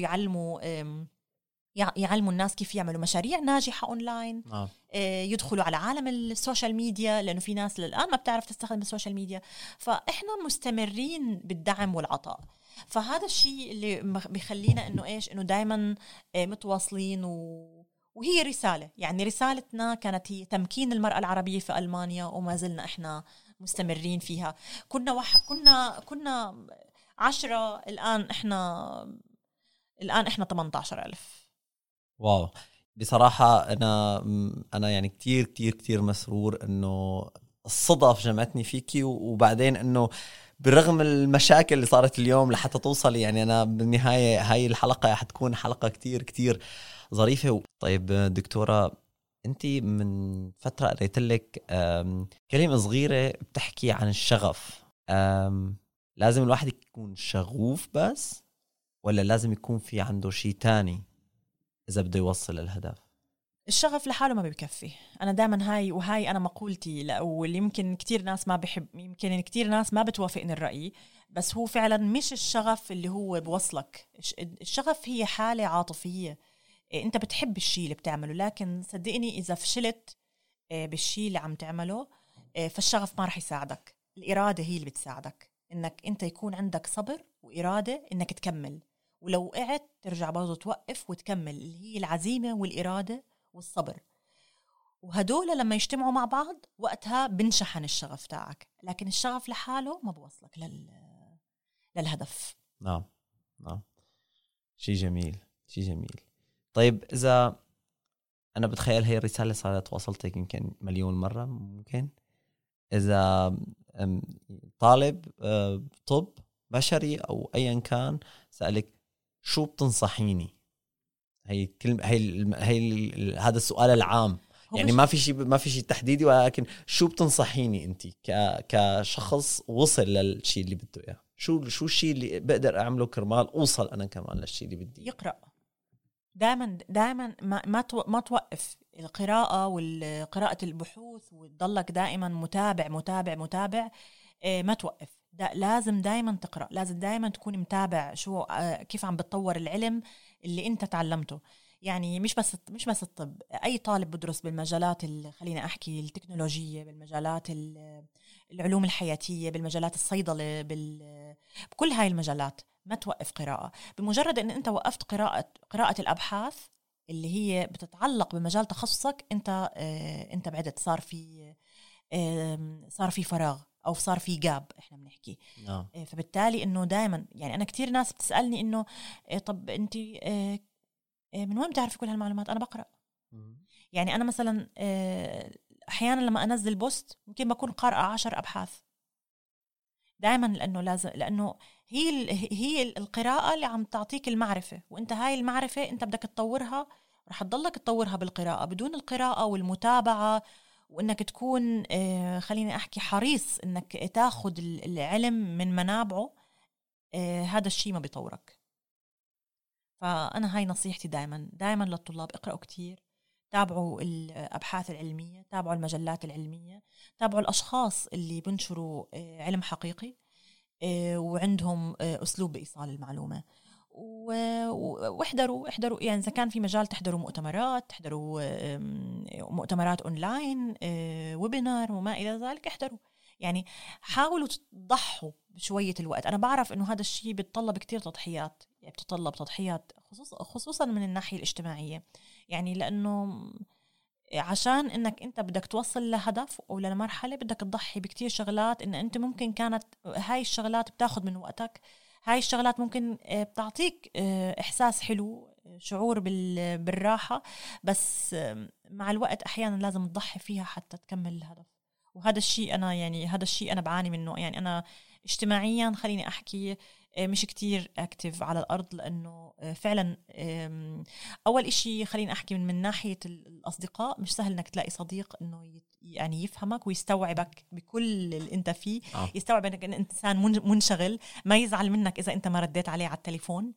Speaker 3: يعلموا الناس كيف يعملوا مشاريع ناجحة أونلاين. يدخلوا على عالم السوشيال ميديا، لأنه في ناس للآن ما بتعرف تستخدم السوشيال ميديا. فإحنا مستمرين بالدعم والعطاء. فهذا الشيء اللي بيخلينا إنه دايما متواصلين. وهي رسالة، يعني رسالتنا كانت هي تمكين المرأة العربية في ألمانيا، وما زلنا إحنا مستمرين فيها. كنا 10، الآن إحنا 18,000.
Speaker 1: واو. بصراحة أنا يعني كتير كتير كتير مسرور إنه الصدف جمعتني فيكي، وبعدين إنه برغم المشاكل اللي صارت اليوم لحتى توصلي، يعني أنا بالنهاية هاي الحلقة حتكون حلقة كتير كتير ظريفة. طيب دكتورة، أنتي من فترة قريت لك كلمة صغيرة بتحكي عن الشغف. لازم الواحد يكون شغوف بس، ولا لازم يكون في عنده شيء تاني إذا بده يوصل الهدف؟
Speaker 3: الشغف لحاله ما بيكفي. أنا دائما هاي أنا مقولتي، واللي يمكن كتير ناس ما بحب، يمكن كتير ناس ما بتوافقني الرأي، بس هو فعلا مش الشغف اللي هو بوصلك. الشغف هي حالة عاطفية. أنت بتحب الشيء اللي بتعمله، لكن صدقني إذا فشلت بالشيء اللي عم تعمله فالشغف ما رح يساعدك. الإرادة هي اللي بتساعدك، إنك أنت يكون عندك صبر وإرادة إنك تكمل. ولو وقعت ترجع برضو توقف وتكمل، اللي هي العزيمة والإرادة والصبر. وهدول لما يجتمعوا مع بعض وقتها بنشحن الشغف تاعك. لكن الشغف لحاله ما بوصلك للهدف.
Speaker 1: نعم. شيء جميل. طيب إذا أنا بتخيل هي الرسالة صارت وصلتك يمكن مليون مرة، ممكن إذا طالب طب بشري أو أيا كان سألك شو بتنصحيني، هي الكلمة، هذا السؤال العام، يعني ما في شيء تحديدي، ولكن شو بتنصحيني أنت كشخص وصل للشيء اللي بده إياه؟ شو الشيء اللي بقدر أعمله كرمال أوصل أنا كمان للشيء اللي بدي؟
Speaker 3: يقرأ دائما ما توقف القراءة والقراءة البحوث، وتضلك دائما متابع. ما توقف. لازم دائما تقرأ، لازم دائما تكون متابع كيف عم بتطور العلم اللي انت تعلمته. يعني مش بس الطب، اي طالب بدرس بالمجالات خلينا احكي التكنولوجية، بالمجالات العلوم الحياتية، بالمجالات الصيدلة، بكل هاي المجالات ما توقف قراءة. بمجرد ان انت وقفت قراءة الابحاث اللي هي بتتعلق بمجال تخصصك، انت بعدت، صار في فراغ أو صار في جاب إحنا بنحكي. فبالتالي إنه دائما، يعني أنا كتير ناس بتسألني إنه طب أنت من وين بتعرفي كل هالمعلومات؟ أنا بقرأ. يعني أنا مثلا أحيانا لما أنزل بوست ممكن بكون قارئة 10 أبحاث دائما، لأنه هي القراءة اللي عم تعطيك المعرفة، وانت هاي المعرفة انت بدك تطورها، رح تضلك تطورها بالقراءة. بدون القراءة والمتابعة وانك تكون خليني احكي حريص انك تاخد العلم من منابعه، هذا الشيء ما بيطورك. فانا هاي نصيحتي دائما للطلاب: اقرأوا كتير، تابعوا الابحاث العلمية، تابعوا المجلات العلمية، تابعوا الاشخاص اللي بنشروا علم حقيقي وعندهم اسلوب بايصال المعلومة. واحضروا يعني إذا كان في مجال تحضروا مؤتمرات، تحضروا مؤتمرات أونلاين، ويبينار وما إلى ذلك، احضروا. يعني حاولوا تضحوا بشوية الوقت. أنا بعرف إنه هذا الشيء بيتطلب كتير تضحيات، يعني بتطلب تضحيات خصوصا من الناحية الاجتماعية، يعني لأنه عشان إنك أنت بدك توصل لهدف أو لمرحلة بدك تضحي بكتير شغلات. إن أنت ممكن كانت هاي الشغلات بتاخد من وقتك، هاي الشغلات ممكن بتعطيك إحساس حلو، شعور بالراحة، بس مع الوقت أحيانا لازم تضحي فيها حتى تكمل الهدف. وهذا الشيء هذا الشيء أنا بعاني منه. يعني أنا اجتماعيا خليني أحكي مش كتير أكتف على الأرض، لأنه فعلا أول إشي خليني أحكي من ناحية الأصدقاء، مش سهل إنك تلاقي صديق إنه يعني يفهمك ويستوعبك بكل اللي أنت فيه. يستوعب إنك إنسان منشغل، ما يزعل منك إذا أنت ما رديت عليه على التليفون.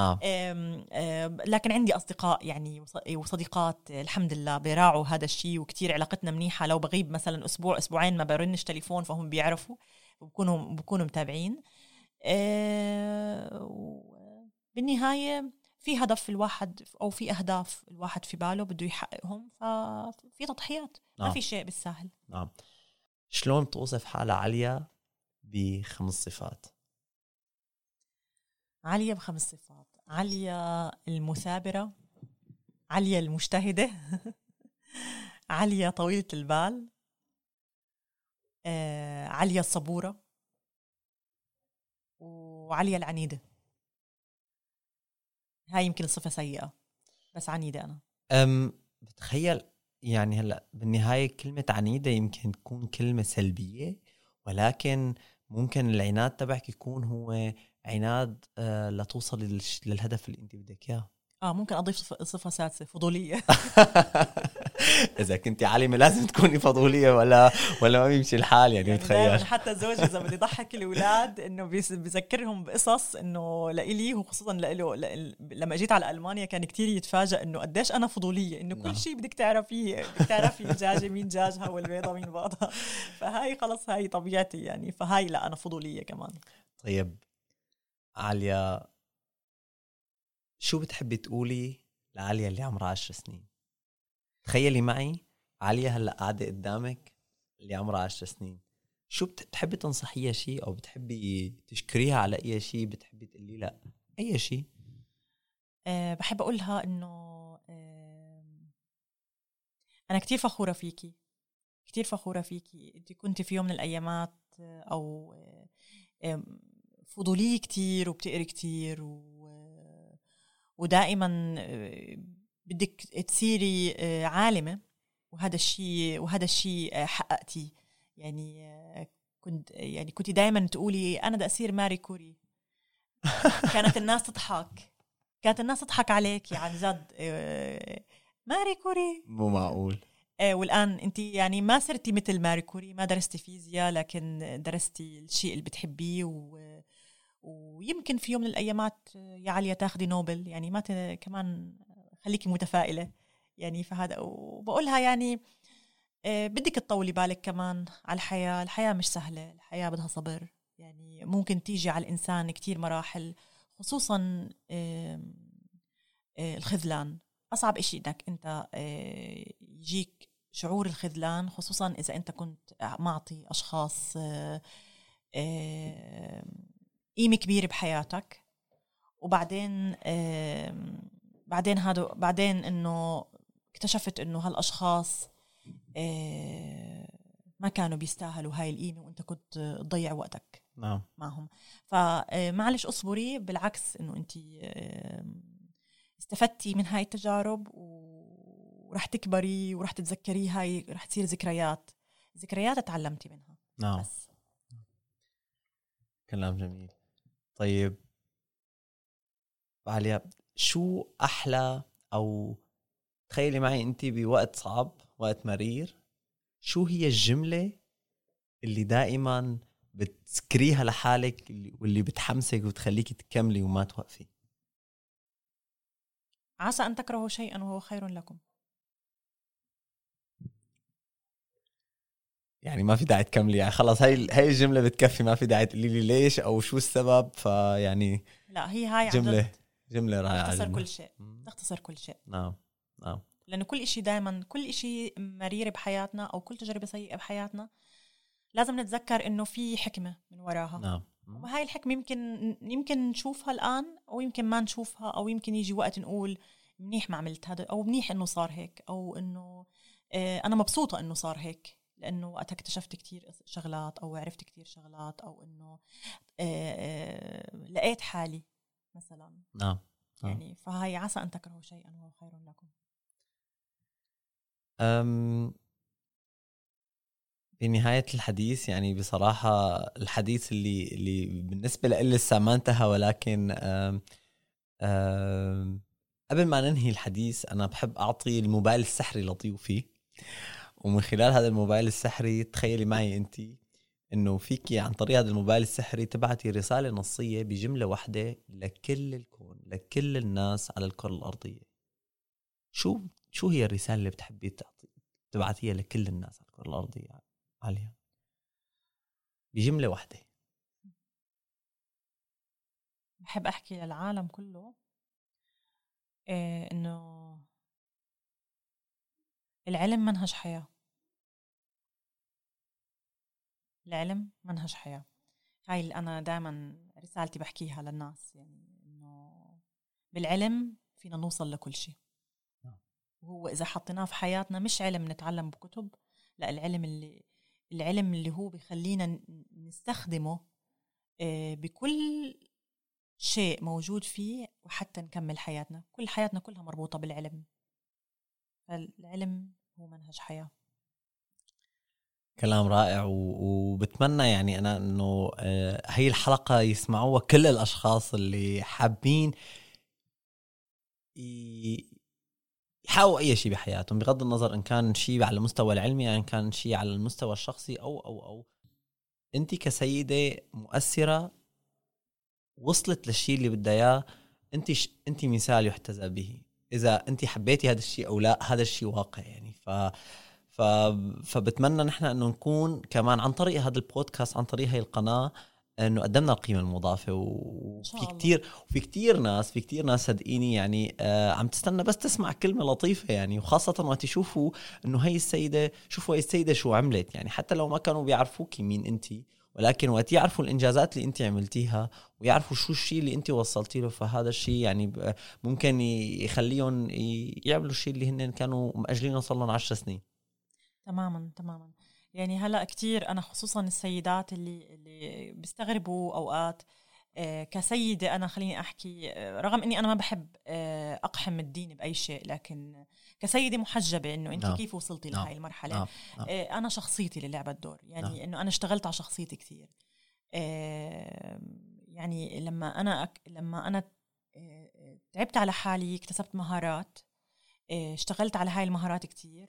Speaker 3: لكن عندي أصدقاء يعني وصديقات الحمد لله بيراعوا هذا الشيء، وكتير علاقتنا منيحة. لو بغيب مثلا أسبوع أسبوعين ما برنش تليفون، فهم بيعرفوا وبكونوا متابعين. بالنهاية في هدف الواحد أو في أهداف الواحد في باله بده يحققهم، ففي تضحيات. ما في شيء بالسهل.
Speaker 1: شلون توصف حالة عليا ب5 صفات؟
Speaker 3: عليا ب5 صفات: عليا المثابرة، عليا المجتهدة، عليا طويلة البال، عليا الصبورة، وعليا العنيدة. هاي يمكن صفة سيئة بس عنيدة أنا.
Speaker 1: بتخيل يعني هلأ بالنهاية كلمة عنيدة يمكن تكون كلمة سلبية، ولكن ممكن العناد تبعك يكون هو عناد لتوصل للهدف اللي انت بدك اياه.
Speaker 3: ممكن أضيف صفة سادسة: فضولية.
Speaker 1: إذا كنتي عالمة لازم تكوني فضولية ولا ما بيمشي الحال. يعني متخيل
Speaker 3: حتى زوجي إذا بدي ضحك الأولاد إنه بذكرهم بقصص إنه لإلي، وخصوصا لإله لما جيت على ألمانيا كان كتير يتفاجأ إنه قديش أنا فضولية، إنه كل شيء بدك تعرفي الدجاجة مين دجاجها والبيضة مين بيضها. فهاي خلص هاي طبيعتي يعني. فهاي لا، أنا فضولية كمان.
Speaker 1: طيب عليا، شو بتحبي تقولي لعليا اللي عمرها 10 سنين؟ تخيلي معي عليا هلأ قاعدة قدامك اللي عمرها 10 سنين، شو بتحبي تنصحيها شيء، أو بتحبي تشكريها على أي شيء، بتحبي تقولي لا أي شيء؟
Speaker 3: بحب أقولها إنه أنا كتير فخورة فيكي، كتير فخورة فيكي. أنت كنت في يوم من الأيامات أو فضولية كتير، وبتقري كتير، ودائما بدك تصيري عالمة، وهذا الشيء حققتي. يعني كنت دائما تقولي أنا بدي أصير ماري كوري. كانت الناس تضحك عليك عن جد. ماري كوري
Speaker 1: مو معقول.
Speaker 3: والآن أنت يعني ما صرتي مثل ماري كوري، ما درستي فيزياء لكن درستي الشيء اللي بتحبيه، ويمكن في يوم من الأيامات يا عليا تاخدي نوبل. يعني ما كمان خليكي متفائلة يعني. فهذا وبقولها يعني بدك تطولي بالك كمان على الحياة مش سهلة، الحياة بدها صبر. يعني ممكن تيجي على الإنسان كتير مراحل، خصوصا الخذلان. أصعب إشي إنك أنت يجيك شعور الخذلان، خصوصا إذا أنت كنت معطي أشخاص قيمة كبيرة بحياتك، وبعدين بعدين إنه اكتشفت إنه هالأشخاص ما كانوا بيستاهلوا هاي القيمة، وأنت كنت تضيع وقتك معهم. فمعلش أصبري، بالعكس إنه أنت استفدتي من هاي التجارب، ورح تكبري ورح تتذكري هاي، رح تصير ذكريات تعلمتي منها.
Speaker 1: بس كلام جميل. طيب عليا، شو أحلى، أو تخيلي معي أنت بوقت صعب، وقت مرير، شو هي الجملة اللي دائما بتذكريها لحالك واللي بتحمسك وتخليك تكملي وما توقفي؟
Speaker 3: عسى أن تكرهوا شيئا وهو خير لكم.
Speaker 1: يعني ما في داعي تكملي، يعني خلاص هاي الجملة بتكفي، ما في داعي تقولي لي ليش أو شو السبب. فيعني
Speaker 3: لا، هي هاي عن جد
Speaker 1: جملة رائعة،
Speaker 3: تختصر كل شيء، تختصر كل شيء.
Speaker 1: نعم.
Speaker 3: لأنه كل إشي دائما، كل إشي مرير بحياتنا أو كل تجربة سيئة بحياتنا لازم نتذكر إنه في حكمة من وراها.
Speaker 1: نعم.
Speaker 3: وهاي الحكمة يمكن نشوفها الآن أو يمكن ما نشوفها، أو يمكن يجي وقت نقول منيح ما عملت هذا، أو منيح إنه صار هيك، أو إنه أنا مبسوطة إنه صار هيك لأنه وقتها اكتشفت كتير شغلات أو عرفت كتير شغلات، أو إنه لقيت حالي مثلا.
Speaker 1: نعم.
Speaker 3: يعني فهاي عسى أن تكرهوا شيئا وهو خير لكم.
Speaker 1: بنهاية الحديث، يعني بصراحة الحديث اللي بالنسبة لي لسه ما انتهى، ولكن قبل ما ننهي الحديث أنا بحب أعطي الموبايل السحري لضيوفي. ومن خلال هذا الموبايل السحري تخيلي معي أنت إنه فيكي عن طريق هذا الموبايل السحري تبعتي رسالة نصية بجملة واحدة لكل الكون، لكل الناس على الكرة الأرضية. شو هي الرسالة اللي بتحبي تبعتيها لكل الناس على الكرة الأرضية عليها بجملة واحدة؟
Speaker 3: بحب أحكي للعالم كله إنه العلم منهج حياة. العلم منهج حياة. هاي اللي أنا دائما رسالتي بحكيها للناس، يعني إنه بالعلم فينا نوصل لكل شيء. وهو إذا حطيناه في حياتنا مش علم نتعلم بكتب، لا، العلم اللي هو بيخلينا نستخدمه بكل شيء موجود فيه، وحتى نكمل حياتنا. كل حياتنا كلها مربوطة بالعلم، فالعلم هو منهج حياة.
Speaker 1: كلام رائع. وبتمنى يعني أنا أنه هاي الحلقة يسمعوها كل الأشخاص اللي حابين يحاولوا أي شيء بحياتهم، بغض النظر إن كان شيء على المستوى العلمي، يعني إن كان شيء على المستوى الشخصي أو أنت كسيدة مؤثرة وصلت للشيء اللي بدها إياه. أنت مثال يحتذى به. إذا أنت حبيتي هذا الشيء أو لا، هذا الشيء واقع يعني. فبتمنى نحن أنه نكون كمان عن طريق هذا البودكاست، عن طريق هاي القناة، أنه قدمنا القيمة المضافة. وفي كتير ناس صدقيني يعني عم تستنى بس تسمع كلمة لطيفة يعني. وخاصة وقت يشوفوا أنه هاي السيدة شو عملت، يعني حتى لو ما كانوا بيعرفوكي مين أنتي، ولكن وقت يعرفوا الإنجازات اللي أنت عملتيها ويعرفوا شو الشيء اللي أنت وصلتي له، فهذا الشيء يعني ممكن يخليهم يعملوا الشيء اللي هن كانوا مأجلينه صار لهم 10 سنين.
Speaker 3: تماما. يعني هلأ كتير أنا خصوصا السيدات اللي بيستغربوا أوقات كسيدة. أنا خليني أحكي رغم أني أنا ما بحب أقحم الدين بأي شيء، لكن كسيدة محجبة إنه أنت كيف وصلتي لهاي المرحلة. أنا شخصيتي اللي لعبت دور، يعني إنه أنا اشتغلت على شخصيتي كثير. يعني لما أنا تعبت على حالي، اكتسبت مهارات، اشتغلت على هاي المهارات كتير.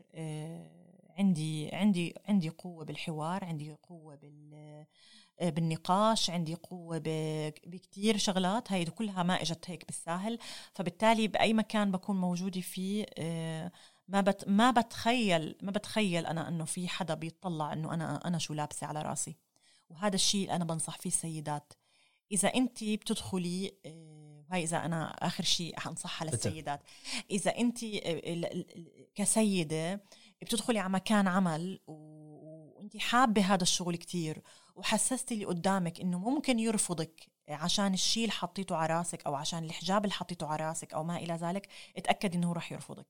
Speaker 3: عندي قوة بالحوار، عندي قوة بالنقاش، عندي قوة بكتير شغلات. هاي كلها ما اجت هيك بالساهل. فبالتالي بأي مكان بكون موجودة فيه ما بتخيل أنا أنه في حدا بيطلع أنه أنا شو لابسة على راسي. وهذا الشيء أنا بنصح فيه السيدات. إذا أنت بتدخلي هاي، إذا أنا آخر شيء حنصحها للسيدات، إذا أنت كسيدة بتدخلي على مكان عمل وأنت حابة هذا الشغل كتير، وحسستي اللي قدامك إنه ممكن يرفضك عشان الشيء اللي حطيته على راسك أو عشان الحجاب اللي حطيته على راسك أو ما إلى ذلك، اتأكد إنه رح يرفضك.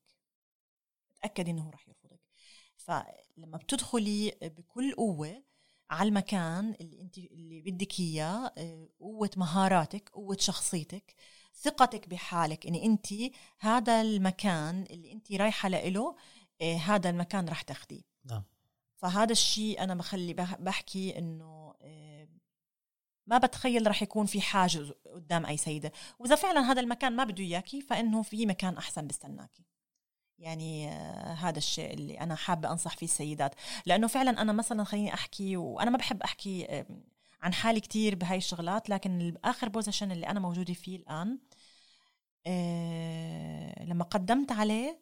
Speaker 3: فلما بتدخلي بكل قوة على المكان اللي بدك إياه، قوة مهاراتك، قوة شخصيتك، ثقتك بحالك، إن أنت هذا المكان اللي أنت رايحة له هذا المكان رح تاخديه. فهذا الشيء أنا بحكي إنه ما بتخيل رح يكون في حاجز قدام أي سيدة. وإذا فعلا هذا المكان ما بده إياكي فإنه في مكان أحسن بستناكي. يعني هذا الشيء اللي أنا حابة أنصح فيه السيدات. لأنه فعلا أنا مثلا خليني أحكي، وأنا ما بحب أحكي عن حالي كتير بهاي الشغلات، لكن آخر بوزيشن اللي أنا موجودة فيه الآن لما قدمت عليه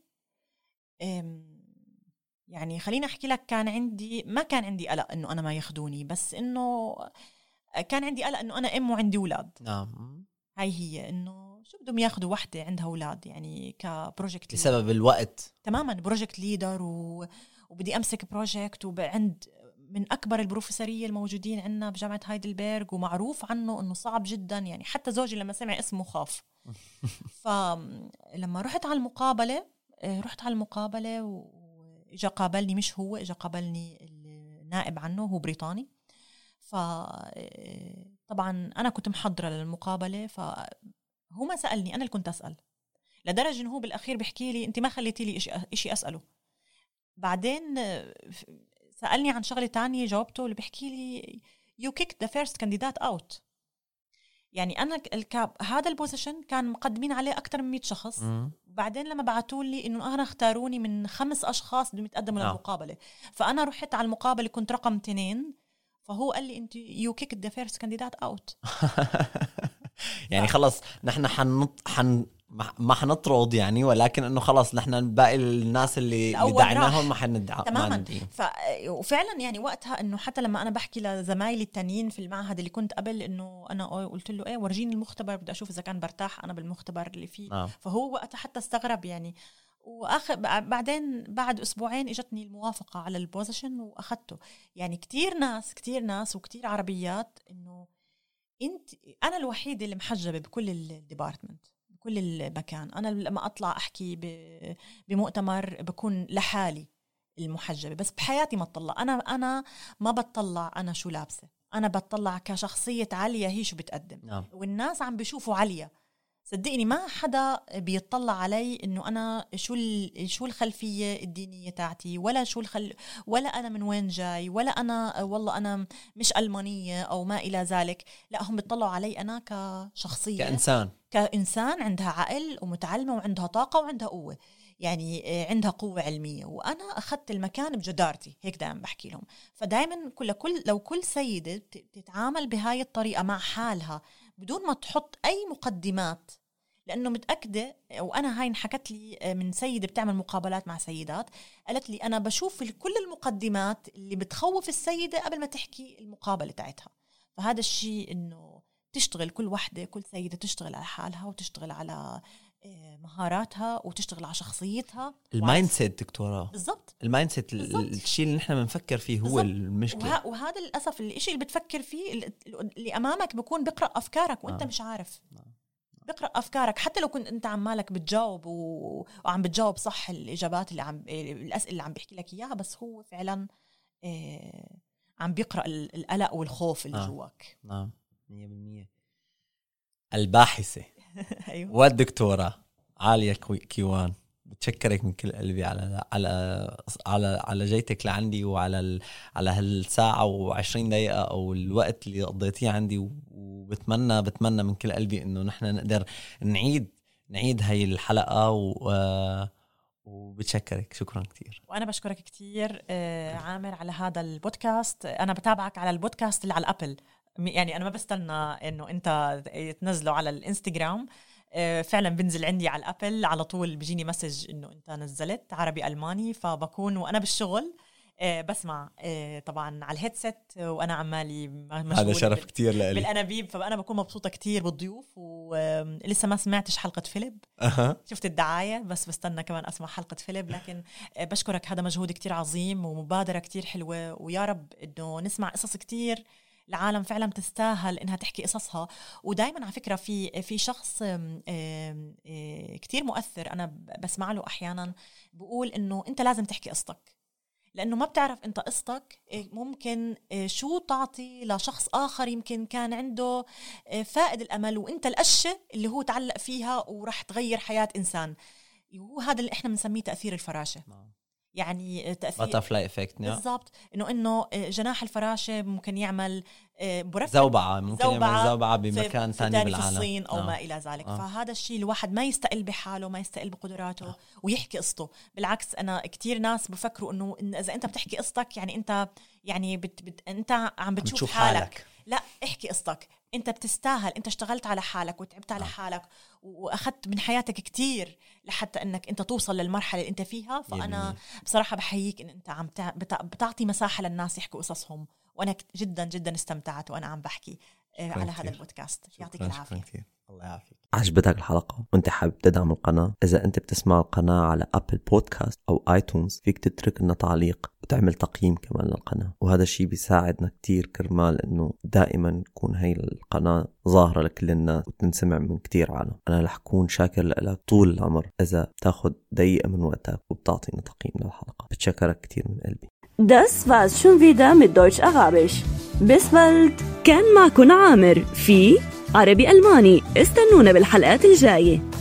Speaker 3: يعني خليني أحكي لك، ما كان عندي قلق إنه أنا ما ياخدوني، بس إنه كان عندي قلق إنه أنا أم وعندي أولاد.
Speaker 1: نعم.
Speaker 3: هاي هي إنه شو بدهم ياخدوا وحدة عندها أولاد يعني كبروجكت
Speaker 1: بسبب الوقت
Speaker 3: تماما، بروجكت ليدر وبدي أمسك بروجكت وعند من أكبر البروفيسورية الموجودين عندنا بجامعة هايدلبرغ، ومعروف عنه إنه صعب جدا. يعني حتى زوجي لما سمع اسمه خاف. فلما رحت على المقابلة وإجا قابلني، مش هو، إجا قابلني النائب عنه، هو بريطاني. فطبعا أنا كنت محضرة للمقابلة، فهو ما سألني، أنا اللي كنت أسأل، لدرجة إنه هو بالأخير بيحكي لي أنت ما خليتي لي إشي أسأله. بعدين سألني عن شغلة تانية جاوبته، اللي بيحكي لي you kicked the first candidate out. يعني أنا هذا البوزيشن كان مقدمين عليه أكتر من 100 شخص. بعدين لما بعتوا لي إنه أنا اختاروني من 5 أشخاص بدهم يتقدموا للمقابلة، فأنا رحت على المقابلة كنت رقم 2، فهو قال لي أنت you kicked the first candidate out.
Speaker 1: يعني خلص نحن ما حنطرد يعني، ولكن انه خلص نحن باقي الناس اللي دعيناهم ما حندعم
Speaker 3: تماما. وفعلا يعني وقتها انه حتى لما انا بحكي لزمايلي التانيين في المعهد اللي كنت قبل، انه انا قلت له ورجيني المختبر بدي اشوف اذا كان برتاح انا بالمختبر اللي فيه. فهو وقتها حتى استغرب يعني. بعدين بعد أسبوعين اجتني الموافقة على البوزيشن واخدته. يعني كتير ناس وكتير عربيات، انه انا الوحيدة اللي محجبة بكل الديبارتمنت، بكل المكان. أنا لما أطلع أحكي بمؤتمر بكون لحالي المحجبة، بس بحياتي ما أطلع. أنا ما بتطلع أنا شو لابسة، أنا بتطلع كشخصية عليا هي شو بتقدم. والناس عم بيشوفوا عليا، صدقني ما حدا بيطلع علي إنه أنا شو الخلفية الدينية تاعتي، ولا ولا أنا من وين جاي، ولا أنا والله أنا مش ألمانية أو ما إلى ذلك. لا، هم بيطلعوا علي أنا كشخصية، كإنسان عندها عقل ومتعلمة وعندها طاقة وعندها قوة، يعني عندها قوة علمية. وأنا أخذت المكان بجدارتي، هيك دائما بحكي لهم. فدائما لو كل سيدة تتعامل بهاي الطريقة مع حالها بدون ما تحط أي مقدمات، لأنه متأكدة، وأنا هاي انحكت لي من سيدة بتعمل مقابلات مع سيدات، قالت لي أنا بشوف كل المقدمات اللي بتخوف السيدة قبل ما تحكي المقابلة تاعتها. فهذا الشيء إنه تشتغل كل سيدة تشتغل على حالها، وتشتغل على مهاراتها، وتشتغل على شخصيتها.
Speaker 1: المايند سيت دكتورة،
Speaker 3: بالضبط
Speaker 1: المايند سيت، الشيء اللي نحن بنفكر فيه هو بالزبط. المشكلة.
Speaker 3: وهذا للأسف الشيء اللي بتفكر فيه اللي أمامك بيكون بقرأ أفكارك وأنت مش عارف. بقرأ أفكارك، حتى لو كنت أنت عمالك بتجاوب وعم بتجاوب صح الإجابات الأسئلة اللي عم بيحكي لك إياها، بس هو فعلا عم بيقرأ القلق والخوف اللي جواك.
Speaker 1: نعم 100%. الباحثة
Speaker 3: أيوة.
Speaker 1: والدكتورة عالية كيوان، بتشكرك من كل قلبي على جيتك لعندي، وعلى هالساعة و20 دقيقة أو الوقت اللي قضيتيه عندي. وبتمنى من كل قلبي إنه نحن نقدر نعيد هاي الحلقة وبتشكرك. شكرا كتير.
Speaker 3: وأنا بشكرك كتير عامر على هذا البودكاست. أنا بتابعك على البودكاست اللي على الأبل، يعني أنا ما بستنى إنه أنت تنزله على الإنستغرام، فعلا بنزل عندي على الأبل على طول، بيجيني مسج إنه أنت نزلت عربي ألماني. فبكون وأنا بالشغل بسمع طبعا على الهيدسيت وأنا عمالي مشغول.
Speaker 1: هذا شرف كتير لي
Speaker 3: بالأنابيب. فأنا بكون مبسوطة كتير بالضيوف. ولسه ما سمعتش حلقة فيليب. شفت الدعاية، بس بستنى كمان أسمع حلقة فيليب. لكن بشكرك، هذا مجهود كتير عظيم ومبادرة كتير حلوة، ويا رب إنه نسمع قصص كتير العالم فعلا تستاهل إنها تحكي قصصها. ودايما على فكرة في شخص كتير مؤثر أنا بسمع له أحيانا بقول إنه أنت لازم تحكي قصتك، لأنه ما بتعرف أنت قصتك ممكن شو تعطي لشخص آخر يمكن كان عنده فائد الأمل، وأنت القشة اللي هو تعلق فيها ورح تغير حياة إنسان. وهذا اللي إحنا بنسميه تأثير الفراشة. يعني تأثير
Speaker 1: باترفلاي افكت.
Speaker 3: بالضبط، انه جناح الفراشة ممكن يعمل
Speaker 1: زوبعة، ممكن يعمل زوبعة بمكان ثاني بالعالم
Speaker 3: في الصين او ما الى ذلك. فهذا الشيء الواحد ما يستقل بحاله، ما يستقل بقدراته ويحكي قصته. بالعكس انا كتير ناس بفكروا انه اذا انت بتحكي قصتك يعني انت يعني انت عم بتشوف حالك. لا، احكي قصتك، انت بتستاهل، انت اشتغلت على حالك وتعبت على حالك واخذت من حياتك كتير لحتى انك انت توصل للمرحله اللي انت فيها. فانا بصراحه بحييك ان انت عم بتعطي مساحه للناس يحكوا قصصهم، وانا جدا جدا استمتعت وانا عم بحكي على هذا البودكاست. يعطيك العافيه.
Speaker 1: الله يعافيك.
Speaker 4: عجبتك الحلقة وانت حابب تدعم القناة؟ إذا انت بتسمع القناة على أبل بودكاست أو آيتونز فيك تترك لنا تعليق وتعمل تقييم كمان للقناة، وهذا الشيء بيساعدنا كتير كرمال انه دائما تكون هاي القناة ظاهرة لكل الناس وتنسمع من كتير عالم. انا رح كون شاكر لك طول العمر اذا تاخد دقيقة من وقتك وبتعطينا تقييم للحلقة. بتشكرك كتير من قلبي.
Speaker 2: Das war's schon wieder mit Deutsch Arabisch. Bis bald. كان معكم عامر في عربي ألماني. استنونا بالحلقات الجاية.